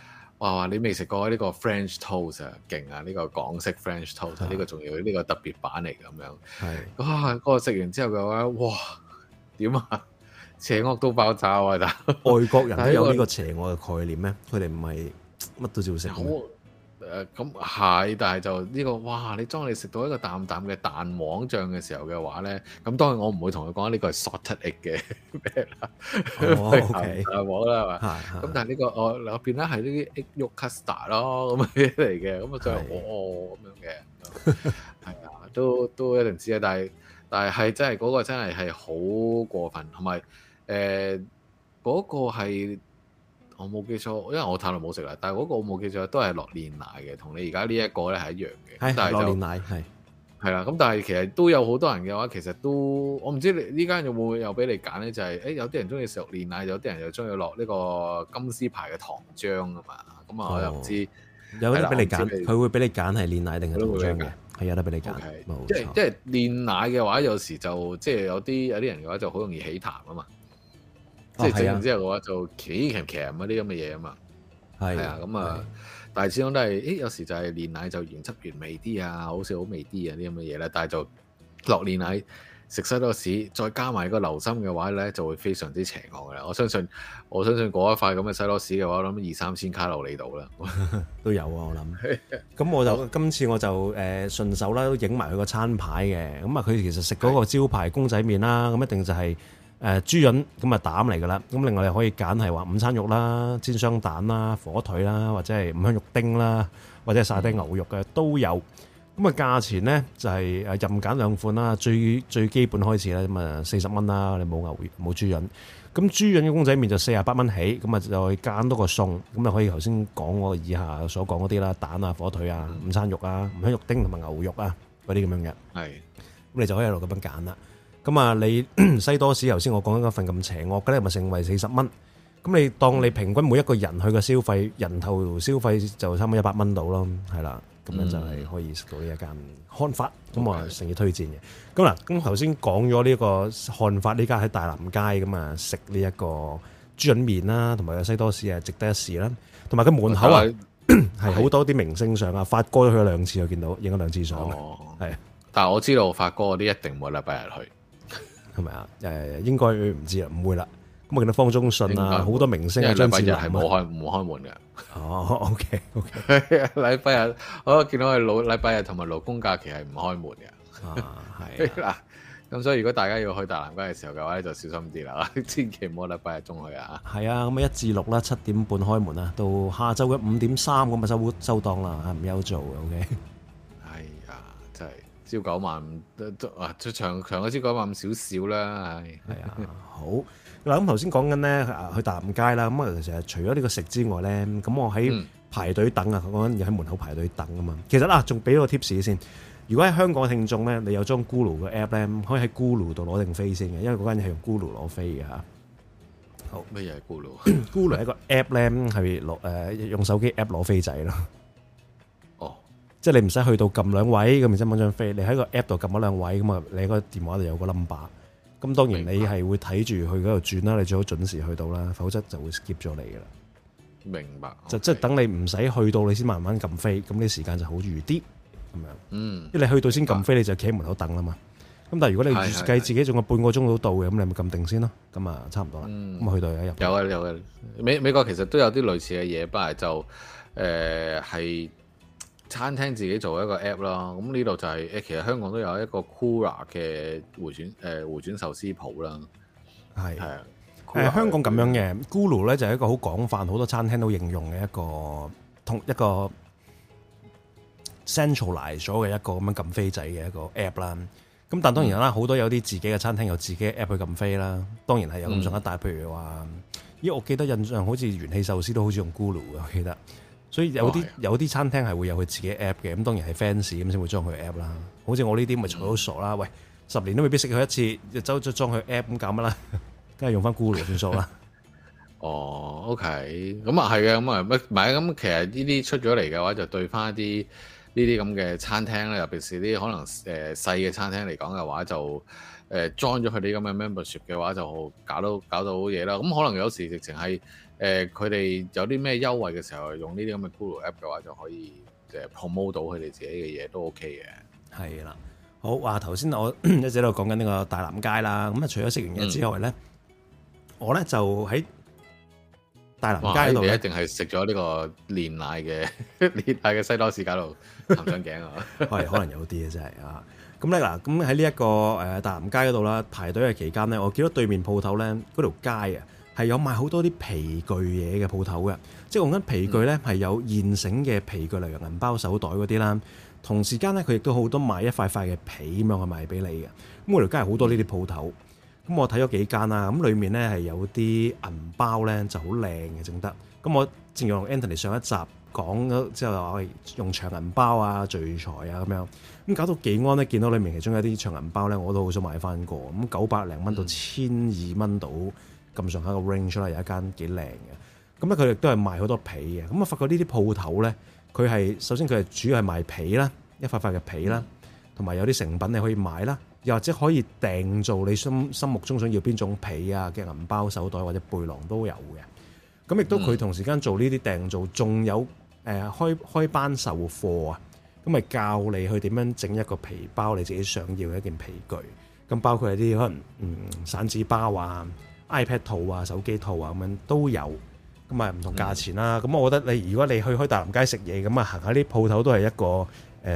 哇！你未食過呢個 French toast 啊，勁啊！呢個港式 French toast，呢個仲要呢個特別版嚟咁樣。 係哇！嗰個食完之後嘅話，哇！點啊？邪惡到爆炸啊！但外國人都有呢個邪惡嘅概念咩？佢哋唔係乜都照食咩？ 咁係，但係就呢個哇！當你食到一個淡淡嘅蛋黃醬嘅時候嘅話咧，咁當然我唔會同佢講呢個係 salted egg 嘅咩啦，蛋黃啦係嘛？咁但係呢個我入邊咧係呢啲 egg yolk custard 咯咁嘅嚟嘅，咁啊就咁樣嘅，係啊，都一定知啊，但係真係嗰個真係好過分，同埋嗰個係。我冇記錯，因為我太耐冇食啦。但係嗰個我冇記錯，都係落煉奶嘅，同你而家呢一個咧係一樣嘅。 係但係落煉奶係啦。 咁但係其實都有好多人嘅話，其實都我唔知你呢間有冇有俾你揀咧？就係有啲人中意食煉奶，有啲人又中意落呢個金絲牌嘅糖漿啊嘛。咁啊，我又唔知有得俾你揀，佢會俾你揀係煉奶定係糖漿嘅，係有得俾你揀。 即係煉奶嘅話，有時就即係有啲人嘅話就好容易起痰啊嘛。即係整完之後嘅話就鉗嗰啲咁嘅嘢啊嘛，係啊咁啊，但係始終都係，有時就係煉奶就原汁原味啲啊，好似好味啲啊啲咁嘅嘢咧，但係就落煉奶食西多士，再加埋個流心嘅話咧，就會非常之邪惡嘅啦。我相信嗰一塊咁嘅西多士嘅話，我諗2-3千卡路里度啦， 都有啊我諗。咁我就今次我就順手啦，都影埋佢個餐牌嘅。咁啊，佢其實食嗰個招牌公仔麵啦，咁一定就係。豬潤咁啊膽嚟㗎啦，咁另外你可以揀係話午餐肉啦、煎雙蛋啦、火腿啦，或者係五香肉丁啦，或者係沙爹牛肉嘅都有。咁啊價錢咧就係任揀兩款啦，最基本開始咧咁啊40蚊啦，你冇牛冇豬潤。咁豬潤嘅公仔麵就48蚊起，咁啊就揀多個餸，咁啊可以頭先講我以下所講嗰啲啦，蛋啊、火腿啊、午餐肉啊、五香肉丁同埋牛肉啊嗰啲咁樣嘅。係，咁你就可以喺度咁樣揀啦。咁啊，你西多士頭先我講緊嗰份咁邪惡嘅咧，咪成為40蚊。咁你當你平均每一個人去嘅消費，人頭消費就差唔多100蚊到咯，係啦。咁樣就係可以食到呢一間漢法，咁我誠意推薦嘅。咁嗱，咁頭先講咗呢個漢法呢間喺大南街咁啊，食呢一個豬潤麵啦，同埋個西多士啊，值得一試啦。同埋佢門口啊，係好多啲明星相啊，發哥都去咗2次，我見到影咗2次相。係， 但係我知道發哥嗰啲一定冇禮拜日去。 係咪啊？應該唔知啦，唔會啦。咁我見到方中信啊，好多明星啊，張智霖係冇開門嘅。哦，OK， 禮拜日我見到係禮拜日同埋勞工假期係唔開門嘅。係嗱，咁所以如果大家要去大南街嘅時候嘅話咧，就小心啲啦，千祈唔好禮拜日中去啊。 係啊，咁1至6啦，7點半開門啊，到下晝嘅5點3咁啊收檔啦，唔休做嘅 OK。 係啊，真係。朝9晚都長嗰朝9晚少少啦，係啊，好嗱。咁頭先講緊咧去大南街啦，咁啊其實除咗呢個食之外咧，咁我喺排隊等啊，講緊要喺門口排隊等啊嘛。其實仲俾個 tips 先。如果喺香港嘅聽眾咧，你有裝 Gulu 嘅 app 咧，可以喺 Gulu 度攞定飛先嘅，因為嗰間嘢係用 Gulu 攞飛嘅嚇。好， 咩嘢係 Gulu？Gulu 係一個 app 咧，係用手機 app 攞飛仔咯。即係你唔使去到撳2位咁，然之後揾張飛，你喺個 app 度撳1-2位咁啊，你喺個電話度有個 number。咁當然你係會睇住去嗰度轉啦，你最好準時去到啦，否則就會 skip 咗你噶啦。 明白。 即係等你唔使去到，你先慢慢撳飛，咁啲時間就好預啲咁樣。因為你去到先撳飛，你就企喺門口等啦嘛。咁但係如果你預計自己仲有半個鐘到嘅，咁你咪撳定先咯。咁啊，差唔多啦。咁去到有入。 有啊。美國其實都有啲類似嘅嘢，不過就係。餐廳自己做一個 app 啦，咁呢度就係其實香港都有一個 Kura 嘅回轉壽司鋪啦，係香港咁樣嘅 Gulu 咧就係一個好廣泛，好多餐廳都應用嘅一個 centralize 咗嘅一個咁樣撳飛仔嘅一個 app 啦。咁但當然啦，好多有啲自己嘅餐廳有自己嘅 app 去撳飛啦，當然係有咁上下大。譬如話，我記得印象好似元氣壽司都好似用 Gulu 嘅，我記得。所以有啲餐廳係會有佢自己 app 嘅，咁當然係 fans 咁先會裝佢 app 啦。好似我呢啲咪嘈到傻啦，喂，10年都未必識佢一次，就走咗裝佢 app 咁搞乜啦？梗係用翻 Gulu 算數啦。 OK，咁啊係嘅，咁啊咁其實呢啲出咗嚟嘅話，就對翻一啲啲咁嘅餐廳咧，尤其是啲可能細嘅餐廳嚟講嘅話，就join 咗佢哋咁嘅 membership 嘅話，就搞到嘢啦。咁可能有時直情係佢哋有啲咩優惠嘅時候，用呢啲咁嘅 Google App 嘅話，就可以promote 到佢哋自己嘅嘢都 OK 嘅。 係啦，好話頭先我一直喺度講緊呢個大南街啦。咁啊，除咗食完嘢之外咧，我咧就喺大南街嗰度， 你一定係食咗呢個煉奶嘅西多士搞到含上頸啊！ 係可能有啲嘅真係啊。咁咧嗱，咁喺呢一個大南街嗰度啦，排隊嘅期間咧，我見到對面鋪頭咧，嗰條街啊係有賣好多啲皮具嘢嘅鋪頭嘅，即係講緊皮具咧係有現成嘅皮具，例如銀包、手袋嗰啲啦。同時間咧，佢亦都好多賣一塊塊嘅皮咁樣去賣俾你嘅。咁嗰條街係好多呢啲鋪頭。咁我睇咗幾間啦，咁裡面咧係有啲銀包咧就好靚嘅，整得。咁我正如同 Anthony 上一集講咗之後話，用長銀包啊、聚財啊咁樣。咁搞到技安咧，見到裡面其中有啲長銀包咧，我都好想買翻個。咁900零蚊到1200蚊到咁上下個 range 啦，有一間幾靚嘅。咁咧佢亦都係賣好多皮嘅。咁我發覺呢啲鋪頭咧，佢係首先佢係主要係賣皮啦，一塊塊嘅皮啦，同埋有啲成品你可以買啦。又或者可以訂做你心目中想要邊種皮啊嘅銀包、手袋或者背囊都有嘅。咁亦都佢同時間做呢啲訂做，仲有開班授課啊。咁咪教你去點樣整一個皮包，你自己想要嘅一件皮具。咁包括係啲可能散紙包啊、iPad 套啊、手機套啊咁樣都有。咁啊唔同價錢啦。咁我覺得如果你去開大南街食嘢，咁啊行下啲鋪頭都係一個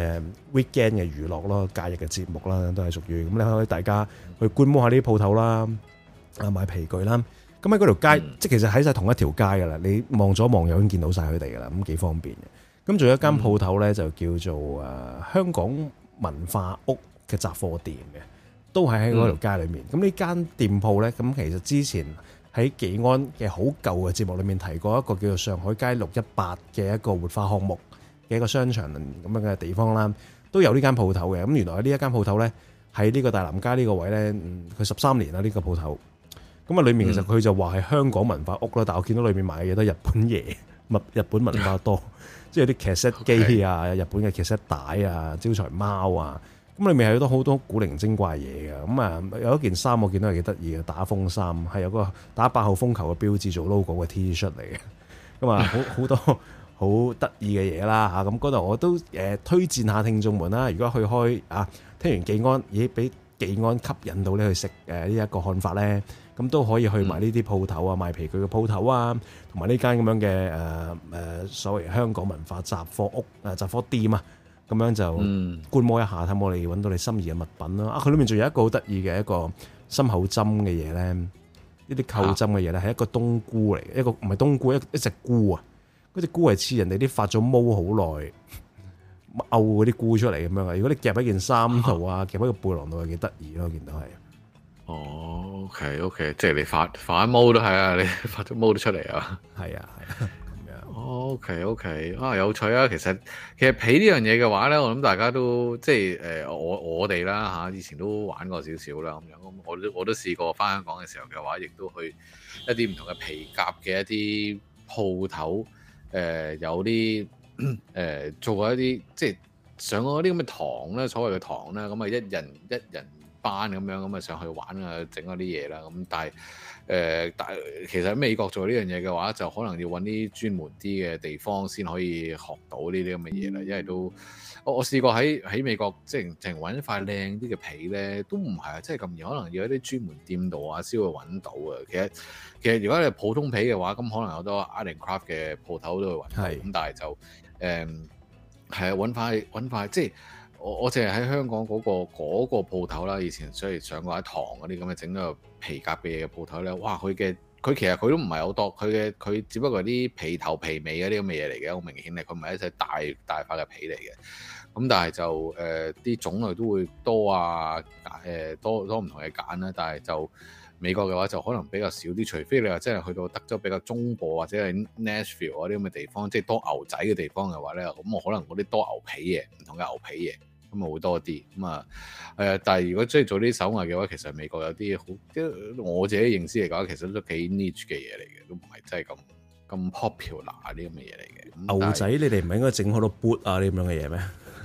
weekend 嘅娛樂咯，假日嘅節目啦，都係屬於咁。你可以大家去觀摩下呢啲鋪頭啦，買皮具啦。咁喺嗰條街，即係其實喺晒同一條街噶啦。你望左望右已經見到晒佢哋噶啦，咁幾方便嘅。咁仲有一間鋪頭咧，就叫做香港文化屋嘅雜貨店嘅，都係喺嗰條街裏面。咁呢間店鋪咧，咁其實之前喺技安嘅好舊嘅節目裏面提過一個叫做上海街618嘅一個活化項目嘅一個商場咁樣嘅地方啦，都有呢間鋪頭嘅。咁原來呢一間鋪頭咧，喺呢個大南街呢個位咧，佢13年啦呢個鋪頭。咁啊，裏面其實佢就話係香港文化屋啦，但我見到裏面買嘅嘢都係日本嘢，日本文化多，即係有啲劇 set 機啊，日本嘅劇 set 帶啊，招財貓啊。咁裏面係好多古靈精怪嘢嘅。咁啊，有一件衫我見到係幾得意嘅，打風衫係有個打8號風球嘅標誌做 logo 嘅 T 恤嚟嘅。咁啊，好多好得意嘅嘢啦嚇。咁嗰度我都推薦下聽眾們啦。如果去開聽完技安，俾技安吸引到你去食呢一個看法咧，咁都可以去埋呢啲鋪頭啊，賣皮具嘅鋪頭啊，同埋呢間咁樣嘅所謂香港文化雜貨屋雜貨店啊，咁樣就觀摩一下，睇我哋揾到你心儀嘅物品啦。佢裏面仲有一個好得意嘅一個心口針嘅嘢咧，呢啲扣針嘅嘢咧係一個冬菇嚟嘅，一個唔係冬菇，一隻菇啊，嗰隻菇係似人哋啲發咗毛好耐漚嗰啲菇出嚟咁樣啊！如果你夾喺件衫度啊，夾喺個背囊度，係幾得意咯，我見到係。 哦 ，OK， 即係你發毛都係啊，你發咗毛都出嚟啊， 係啊，咁樣。 OK， 有趣啊！其實皮呢樣嘢嘅話咧，我諗大家都即係我哋啦嚇，以前都玩過少少啦咁樣。咁我都試過翻香港嘅時候嘅話，亦都去一啲唔同嘅皮夾嘅一啲鋪頭，有啲做過一啲即係上過啲咁嘅堂咧，所謂嘅堂啦，咁啊一人班咁啊上去玩啊，整嗰啲嘢啦。咁但係其實喺美國做呢樣嘢嘅話，就可能要揾啲專門啲嘅地方先可以學到呢啲咁嘅嘢啦。因為都我試過喺美國即係淨揾一塊靚啲嘅皮咧，都唔係啊，即係咁易，可能要一啲專門店度啊先會揾到啊。其實如果你係普通皮嘅話，咁可能有好多 art and craft 嘅鋪頭都會揾到。咁但係就係啊，揾塊即係我淨係喺香港嗰個鋪頭啦。以前所以上過一堂嗰啲咁嘅整個皮革嘅嘢嘅鋪頭咧，哇！佢其實佢都唔係好多，佢只不過係啲皮頭皮尾嗰啲咁嘅嘢嚟嘅，好明顯咧，佢唔係一隻大塊嘅皮嚟嘅。咁但係就啲種類都會多啊，多唔同嘅揀啦。但係就美國嘅話就可能比較少啲，除非你話真係去到德州比較中部或者係 Nashville 嗰啲咁嘅地方，即係多牛仔嘅地方嘅話咧，咁我可能嗰啲多牛皮嘢，唔同嘅牛皮嘢，咁啊會多啲。咁啊但係如果即係做啲手藝嘅話，其實美國有啲好，即係我自己認知嚟講，其實都幾 niche 嘅嘢嚟嘅，都唔係真係咁 popular 啲咁嘅嘢嚟嘅。 牛仔，你哋唔係應該整好多 boot 啊啲咁樣嘅嘢咩？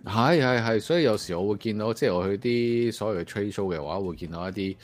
係，所以有時我會見到，即係我去啲所謂嘅 trade show 嘅話，會見到一啲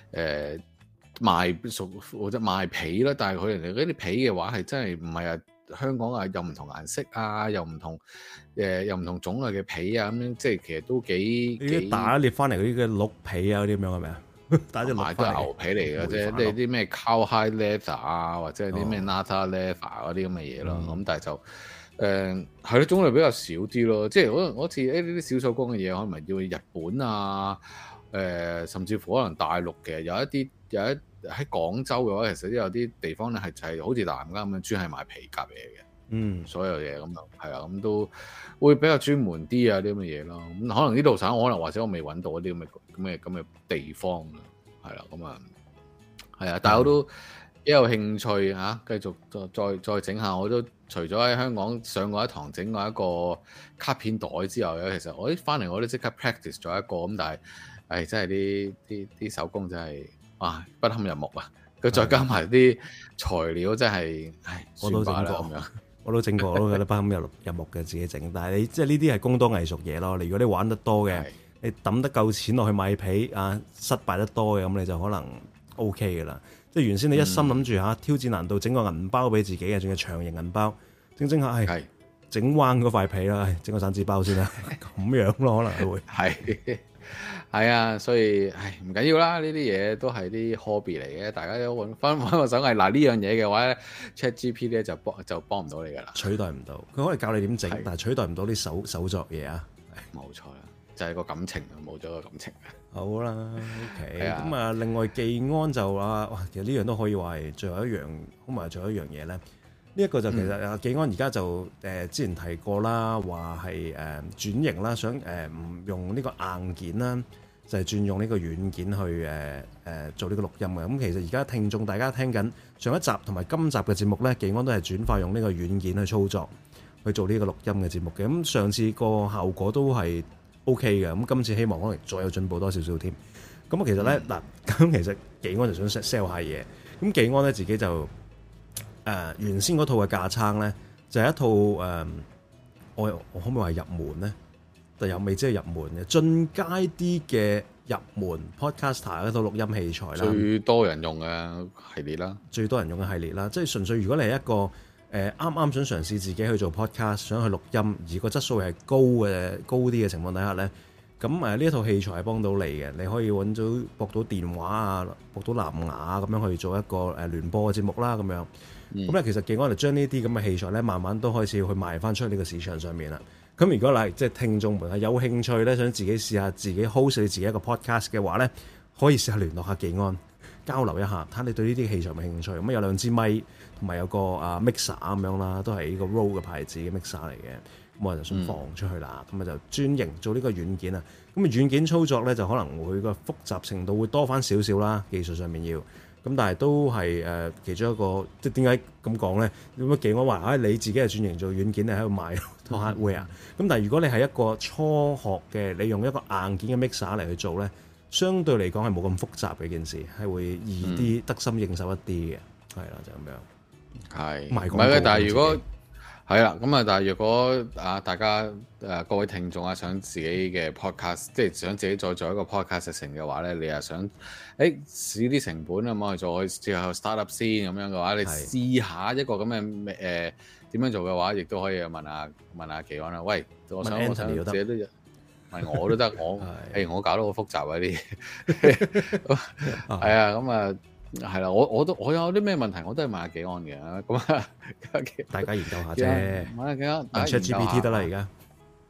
賣熟或者賣皮啦，但係佢哋嗰啲皮嘅話係真係唔係啊，香港啊又唔同顏色啊，又唔同種類嘅皮啊，咁樣即係其實都幾打獵翻嚟嗰啲嘅鹿皮啊嗰啲咁樣係咪啊？打隻鹿買都係牛皮嚟嘅啫，即係啲咩 cowhide leather 啊，或者係啲咩 nata leather 嗰啲咁嘅嘢咯。咁但係就係咯，種類比較少啲咯。即係可能好似呢啲小手工嘅嘢，可能要日本啊，甚至乎可能大陸嘅有一喺廣州嘅話，其實都有啲地方咧係就係好似南家咁樣專係賣皮革嘢嘅。所有嘢咁就係啊，咁都會比較專門啲啊啲咁嘅嘢咯。咁可能呢度省，可能或者我未揾到一啲咁嘅地方啦，係啦，咁啊係啊，但係我都幾有興趣嚇，繼續再整下。我都除咗喺香港上過一堂整過一個卡片袋之後咧，其實我翻嚟我都即刻 practice 咗一個咁，但係真係啲手工真係不堪入目啊！佢再加埋啲材料真係， 我都整過咁樣。我都整過，我都覺得不堪入目嘅自己整。但係你即係呢啲係工多藝術嘢咯。如果你玩得多嘅，你抌得夠錢落去買皮失敗得多嘅，咁你就可能 OK 嘅啦。即係原先你一心諗住挑戰難度，整個銀包俾自己嘅，仲要長形銀包，整下整彎嗰塊皮啦，整個散紙包先啦，咁樣咯，可能會係啊，所以唔緊要啦，呢啲嘢都係啲 hobby 嚟嘅，大家都揾翻個手藝。嗱呢樣嘢嘅話咧 ，ChatGPT 咧就幫唔到你噶啦， 取代唔到。佢可以教你點整，但係取代唔到啲手作嘢啊。 冇錯啦，就係個感情啊，冇咗個感情。 好啦 ，OK。咁啊，另外技安就話，哇，其實呢樣都可以話係最後一樣，咁埋最後一樣嘢咧。呢一個就其實技安而家就之前提過啦，話係轉型啦，想唔用呢個硬件啦，就係轉用呢個軟件去做呢個錄音嘅。咁其實而家聽眾大家聽緊上一集同埋今集嘅節目咧，技安都係轉化用呢個軟件去操作去做呢個錄音嘅節目嘅。咁上次個效果都係 OK 嘅，咁今次希望可能再有進步多少少添。咁啊，其實咧嗱，咁其實技安就想 sell 下嘢。咁技安咧自己就原先嗰套嘅架撐咧，就係一套我可唔可以話入門咧？但又未知係入門嘅進階啲嘅入門 podcaster 嗰套錄音器材啦， 最多人用嘅系列啦， 最多人用嘅系列啦，即係純粹如果你係一個啱啱想嘗試自己去做 podcast，想去錄音，而個質素係高啲嘅情況底下咧，咁呢一套器材係幫到你嘅，你可以揾到駁到電話啊，駁到藍牙咁樣去做一個聯播嘅節目啦，咁樣。咁咧，其實技安就將呢啲咁嘅器材咧，慢慢都開始去賣翻出呢個市場上面啦。咁如果即係聽眾們係有興趣咧，想自己試下自己 host 你自己一個 podcast 嘅話咧，可以試下聯絡下技安交流一下，睇下你對呢啲器材有冇興趣。咁有2支咪，同埋有個mixer 咁樣啦，都係呢個 Rode 嘅牌子嘅 mixer 嚟嘅。咁我就想放出去啦，咁就專營做呢個軟件啊。咁軟件操作咧就可能會個複雜程度會多翻少少啦，技術上面要。咁但係都係其中一個，即係點解咁講咧？點解技安話你自己係轉型做軟件，你喺度賣套 hardware 啊？咁但係如果你係一個初學嘅，你用一個硬件嘅 mixer 嚟去做咧，相對嚟講係冇咁複雜嘅件事，係會易啲得心應手一啲嘅，係啦，就咁樣。係，唔係嘅， 但係如果係啦，咁啊，但係如果大家各位聽眾想自己嘅 podcast，即係想自己再做一個 podcast 成嘅話咧，你又想試啲成本啊，咁去做之後 start up 先咁樣嘅話，你試下一個咁嘅點樣做嘅話，亦都可以問下技安啦。喂，我想自己都問我都得，我搞得好複雜啊啲嘢，係啊，咁啊。係啦，我有啲咩問題，我都係問下技安嘅。咁啊， 大家研究下啫。問下技安，ChatGPT 得啦，而家。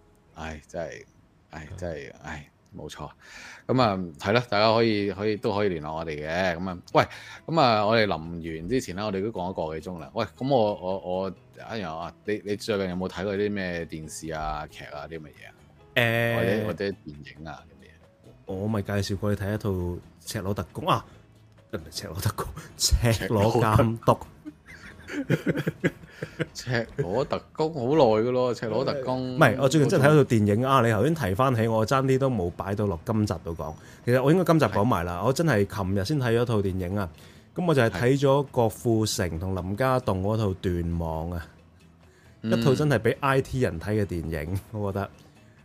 真係，冇錯。咁啊，係啦，大家可以都可以聯絡我哋嘅。咁啊，喂，咁啊，我哋臨完之前咧，我哋都講咗個幾鐘啦。喂，咁我你最近有冇睇過啲咩電視啊、劇啊啲乜嘢啊？或者電影啊咁嘢？ 我咪介紹過你睇一套《赤裸特工》啊。唔係赤裸特工，赤裸監督。 赤裸特工好耐噶咯，赤裸特工。 唔係，我最近真係睇咗套電影啊！你頭先提翻起，我爭啲都冇擺到落今集度講。其實我應該今集講埋啦。我真係琴日先睇咗套電影啊！咁我就係睇咗郭富城同林家棟嗰套《斷網》啊，一套真係俾 IT 人睇嘅電影，我覺得。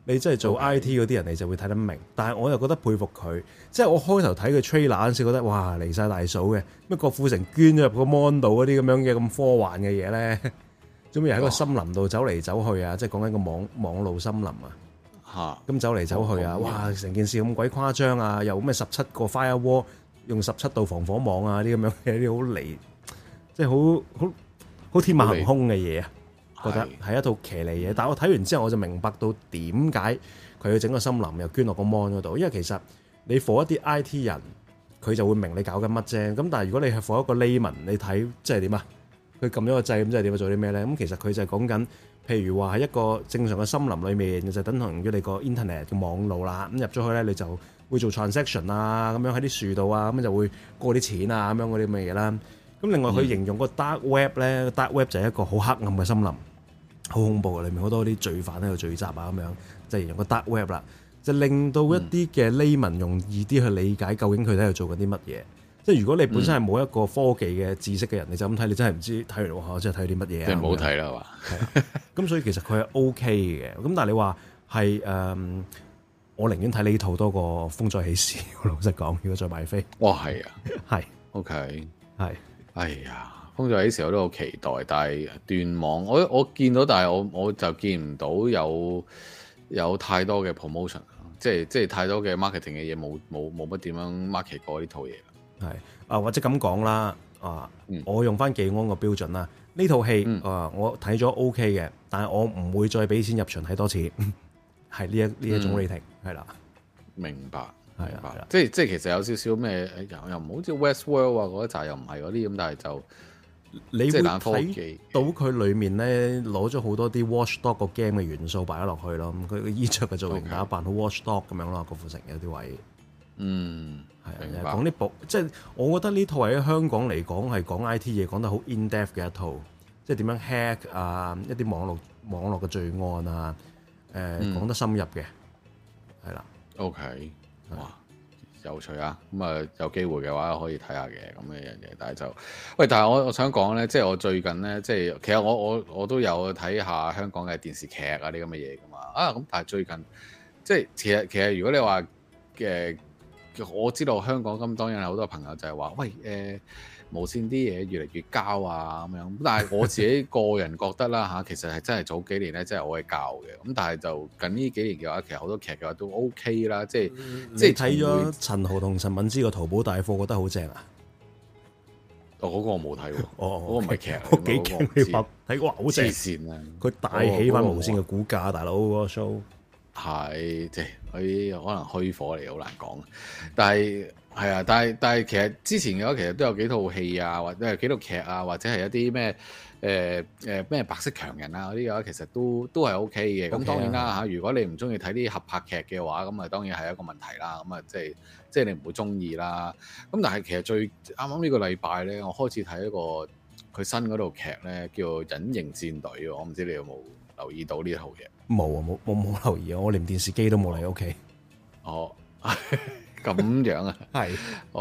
你真係做 IT 嗰啲人，你就會睇得明。但係我又覺得佩服佢，即係我開頭睇佢 trailer 嗰陣時，覺得哇離晒大數嘅，咩郭富城捐咗入個 mon 度嗰啲咁樣嘅咁科幻嘅嘢咧，做咩喺個森林度走嚟走去啊？即係講緊個網路森林啊，咁走嚟走去啊，哇！成件事咁鬼誇張啊，又咩17個 firewall， 用17道防火網啊，啲咁樣嘅啲好離，即係好天馬行空嘅嘢啊！覺得係一套騎呢嘢，但係我睇完之後我就明白到點解佢要整個森林又捐落個 mon 嗰度，因為其實你 for 一啲 IT 人，佢就會明你搞緊乜啫。咁但係如果你係 for 一個 layman，你睇即係點啊？佢撳咗個掣咁即係點啊？做啲咩咧？咁其實佢就係講緊，譬如話喺一個正常嘅森林裏面，就等同於你個 internet 嘅網路啦。咁入咗去咧，你就會做 transaction 啊，咁樣喺啲樹度啊，咁就會過啲錢啊，咁樣嗰啲咁嘅嘢啦。咁另外佢形容個 dark web 咧，dark web 就係一個好黑暗嘅森林。好恐怖嘅，裏面好多啲罪犯喺度聚集啊，咁樣就形容個 dark web 啦，就令到一啲嘅 layman 容易啲去理解究竟佢喺度做緊啲乜嘢。即係如果你本身係冇一個科技嘅知識嘅人，你就咁睇，你真係唔知睇完哇，真係睇啲乜嘢啊！ 即係唔好睇啦，係嘛？ 咁所以其實佢係 OK 嘅。咁但係你話係我寧願睇呢套多過《風再起時》。老實講，如果再買飛， 哇，係啊， 係 OK， 係， 哎呀。風再起時我都好期待，但係斷網，我見到，但係我就見唔到有太多嘅 promotion， 即係太多嘅 marketing 嘅嘢，冇乜點樣 market 過呢套嘢。 係啊，或者咁講啦，我用翻技安個標準啦，呢套戲我睇咗 OK 嘅，但係我唔會再俾錢入場睇多次，係呢一種 rating 係啦， 明白。 係啦， 即係其實有少少咩又唔好似 Westworld 啊嗰一集又唔係嗰啲咁，但係就。 你會睇到佢裡面咧攞咗好多啲 Watchdog 個 game 嘅元素擺咗落去咯，咁佢嘅衣着嘅造型打扮好 Watchdog 咁樣咯，郭富城有啲位，係啊，講啲即係我覺得呢套喺香港嚟講係講 IT 嘢講得好 in depth 嘅一套，即係點樣 hack 啊，一啲網絡嘅罪案啊，講得深入嘅，係啦 ，OK， 哇！有趣啊！咁啊，有機會嘅話可以睇下嘅咁嘅樣嘢，但係就喂，但係我想講咧，即係我最近咧，即係其實我都有睇下香港嘅電視劇啊啲咁嘅嘢噶嘛咁，但係最近即係其實如果你話我知道香港咁當然有好多朋友就係話喂無線啲嘢越嚟越膠啊咁樣，但係我自己個人覺得啦其實係真係早幾年咧真係好鬼膠嘅，咁但係就近呢幾年嘅話，其實好多劇嘅話都 OK 啦，即係睇咗陳豪同陳敏之個淘寶大貨，覺得好正啊！ 嗰個我冇睇喎，嗰個唔係劇， 我幾驚你拍睇過好正線啊！佢帶起翻無線嘅股價，大佬嗰個 show 係即係佢可能虛火嚟，好難講，但係。係啊，但係其實之前嘅話，其實都有幾套戲啊，或者係幾套劇啊，或者係一啲咩咩白色強人啊嗰啲嘅話，其實都係 OK 嘅。咁當然啦如果你唔中意睇啲合拍劇嘅話，咁啊當然係一個問題啦。咁啊即係你唔會中意啦。咁但係其實最啱啱呢個禮拜咧，我開始睇一個佢新嗰套劇咧，叫《隱形戰隊》。我唔知你有冇留意到呢套嘢？冇啊，冇留意啊！我連電視機都冇嚟屋企。 哦。咁樣啊， 係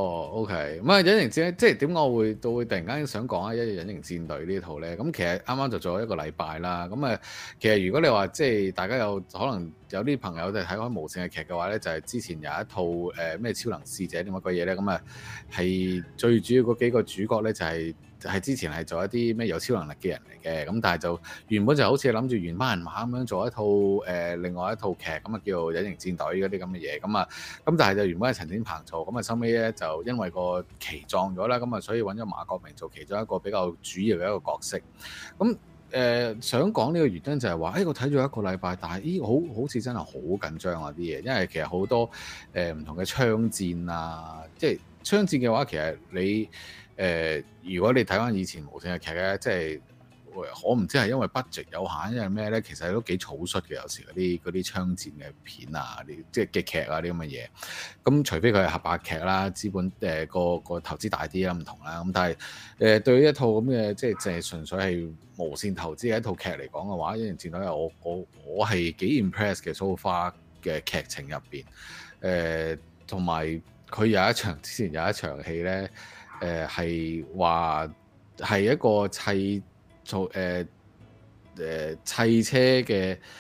OK，咁隱形戰即係點解我會突然間想講啊，隱形戰隊呢套咧，咁其實啱啱就做咗一個禮拜啦，咁其實如果你話即係大家有可能有啲朋友就睇開無線嘅劇嘅話咧，就係之前有一套咩超能使者點乜鬼嘢咧，咁係最主要嗰幾個主角咧就係之前係做一啲咩有超能力嘅人嚟嘅，咁但係就原本就好似諗住原班人馬咁樣做一套另外一套劇，咁叫做隱形戰隊嗰啲咁嘅嘢，咁但係就原本係陳展鵬做，咁收尾咧就因為個期撞咗啦，咁所以揾咗馬國明做其中一個比較主要嘅一個角色。咁想講呢個原因就係話，我睇咗一個禮拜，但係好似真係好緊張啊啲嘢，因為其實好多唔同嘅槍戰啊，即係槍戰嘅話，其實你如果你睇翻以前無線嘅劇咧，即係我唔知係因為 budget 有限，因為咩咧？其實都幾草率嘅，有時嗰啲槍戰嘅片啊，啲即係嘅劇啊啲咁嘅嘢。咁除非佢係合拍劇啦，資本個投資大啲啦，唔同啦。咁但係對於一套咁嘅即係淨係純粹係無線投資嘅一套劇嚟講嘅話，《隱形戰隊》我係幾 impress 嘅 so far 嘅劇情入邊。同埋佢之前有一場戲咧。係話係一個砌車嘅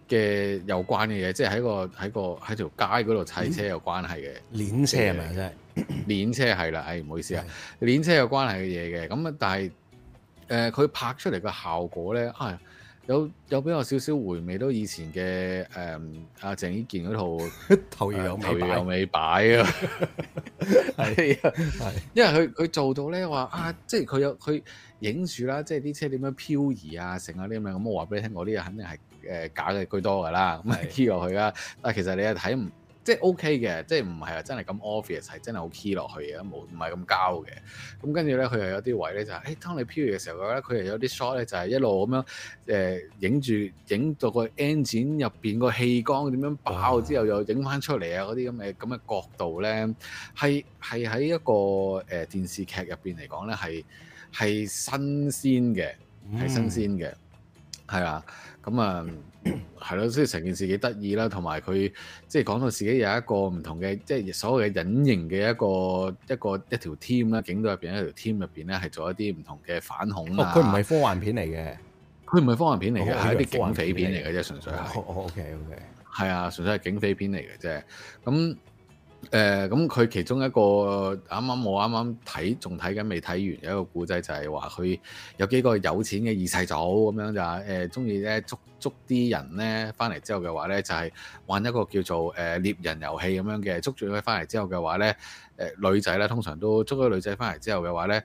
嘅有關嘅嘢，即係喺條街嗰度砌車有關係嘅。 鏈車係咪真係？ 鏈車係啦，唔好意思啊，鏈車有關係嘅嘢嘅。咁啊，但係佢拍出嚟嘅效果咧，有比較少少回味到以前嘅阿鄭伊健嗰套頭搖有尾擺啊，係啊，因為佢做到咧話即係佢影住啦，即係啲車點樣漂移啊，成啊啲咁樣。咁我話俾你聽，我啲嘢肯定係假嘅居多㗎啦，咁係 key 落去啦。但係其實你係睇唔〜即係 OK 嘅，即係唔係話真係咁 obvious，係真係好 key 落去嘅，唔係咁膠嘅。咁跟住咧，佢又有啲位咧就係，當你漂移嘅時候嘅話咧，佢又有啲 shot 咧就係一路咁樣影到個 engine 入邊個氣缸點樣爆之後，又影翻出嚟啊嗰啲咁嘅角度咧，係喺一個電視劇入邊嚟講咧係新鮮嘅，係新鮮嘅，係啊，咁啊。係咯，即係成件事幾得意啦，同埋佢即係講到自己有一個唔同嘅，即係所謂嘅隱形嘅一條 team 啦，警隊入邊一條 team 入邊咧係做一啲唔同嘅反恐啊。 佢唔係科幻片嚟嘅， 佢唔係科幻片嚟嘅，係一啲警匪片嚟嘅啫，純粹係。 OK， 係啊，純粹係警匪片嚟嘅啫。咁佢其中一個我啱啱睇，仲睇緊未睇完，有一個故仔就係話佢有幾個有錢嘅二世祖咁樣就係中意咧捉啲人咧翻嚟之後嘅話咧，就係玩一個叫做獵人遊戲咁樣嘅，捉住佢翻嚟之後嘅話咧，女仔咧通常都捉咗女仔翻嚟之後嘅話咧，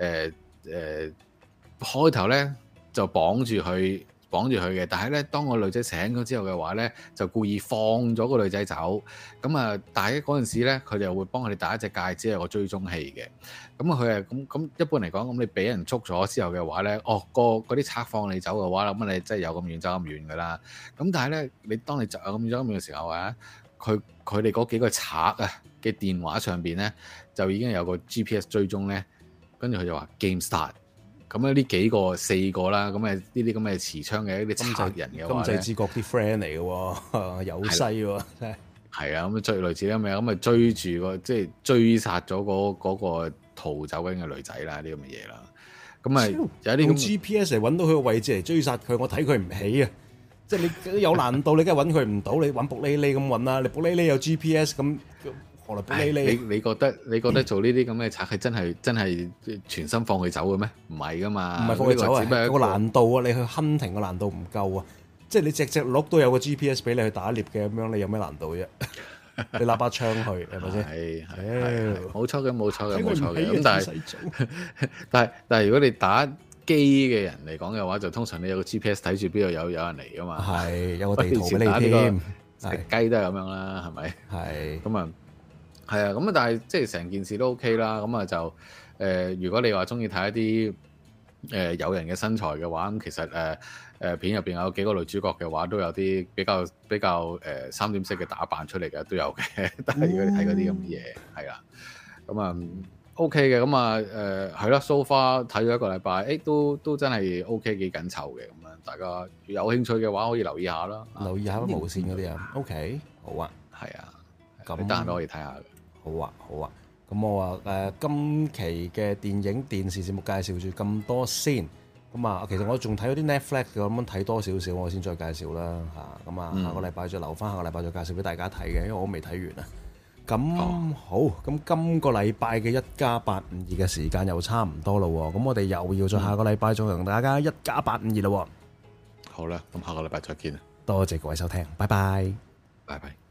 開頭咧就綁住佢嘅，但係咧當個女仔醒咗之後嘅話咧，就故意放咗個女仔走。咁啊，但係嗰陣時咧，佢哋又會幫佢哋戴一隻戒指，有個追蹤器嘅。咁佢係咁一般嚟講，咁你俾人捉咗之後嘅話咧，嗰啲賊放你走嘅話，咁你真係有咁遠走咁遠噶啦。咁但係咧，你當你走咁遠走咁遠嘅時候啊，佢哋嗰幾個賊啊嘅電話上邊咧，就已經有個 GPS 追蹤咧，跟住佢就話 Game Start。咁呢幾個4個啦，咁呢啲咁嘅持槍嘅一啲賊人嘅話咧， 金濟之國啲 friend 嚟嘅喎，有西喎，真係。係啊，咁追類似咁樣，咁追住即係追殺咗嗰個逃走緊嘅女仔啦，啲咁嘅嘢啦。咁有啲用 GPS 嚟揾到佢個位置嚟追殺佢，我睇佢唔起啊！即係你有難度，你梗係揾佢唔到，你揾卜哩哩咁揾啦，你卜哩哩有 GPS 咁。 你覺得做呢啲咁嘅賊係真係全心放佢走嘅咩？唔係噶嘛， 唔係放佢走啊！個難度啊，你去 hunting 個難度唔夠啊！即係你隻鹿都有個 GPS 俾你去打獵嘅咁樣，你有咩難度啫？你攞把槍去係咪先？ 係冇錯嘅。咁但係如果你打機嘅人嚟講嘅話，就通常你有個 GPS 睇住邊度有人嚟噶嘛？ 係有個地圖俾你添。 食雞都係咁樣啦，係咪？係咁啊。係啊，咁啊，但係即係成件事都 OK 啦。咁啊就如果你話中意睇一啲有人嘅身材嘅話，咁其實片入邊有幾個女主角嘅話，都有啲比較三點式嘅打扮出嚟嘅都有嘅。但係如果你睇嗰啲咁嘅嘢，係啦，咁啊 OK 嘅。咁啊係啦 so far 睇咗一個禮拜，都真係 OK 幾緊湊嘅。咁啊，大家有興趣嘅話，可以留意下啦。 留意下無線嗰啲啊。OK，好啊， 係啊，咁得閒都可以睇下。 好啊，咁我話今期嘅電影電視節目介紹住咁多先，咁啊，其實我仲睇咗啲 Netflix 嘅，咁樣睇多少少，我先再介紹啦嚇。咁啊，下個禮拜再留翻，下個禮拜再介紹俾大家睇嘅，因為我未睇完啊。咁好，咁今個禮拜嘅1+852嘅時間又差唔多啦喎，咁我哋又要再下個禮拜再同大家1+852啦喎。 好啦，咁下個禮拜再見啊！ 多謝各位收聽，拜拜， 拜拜。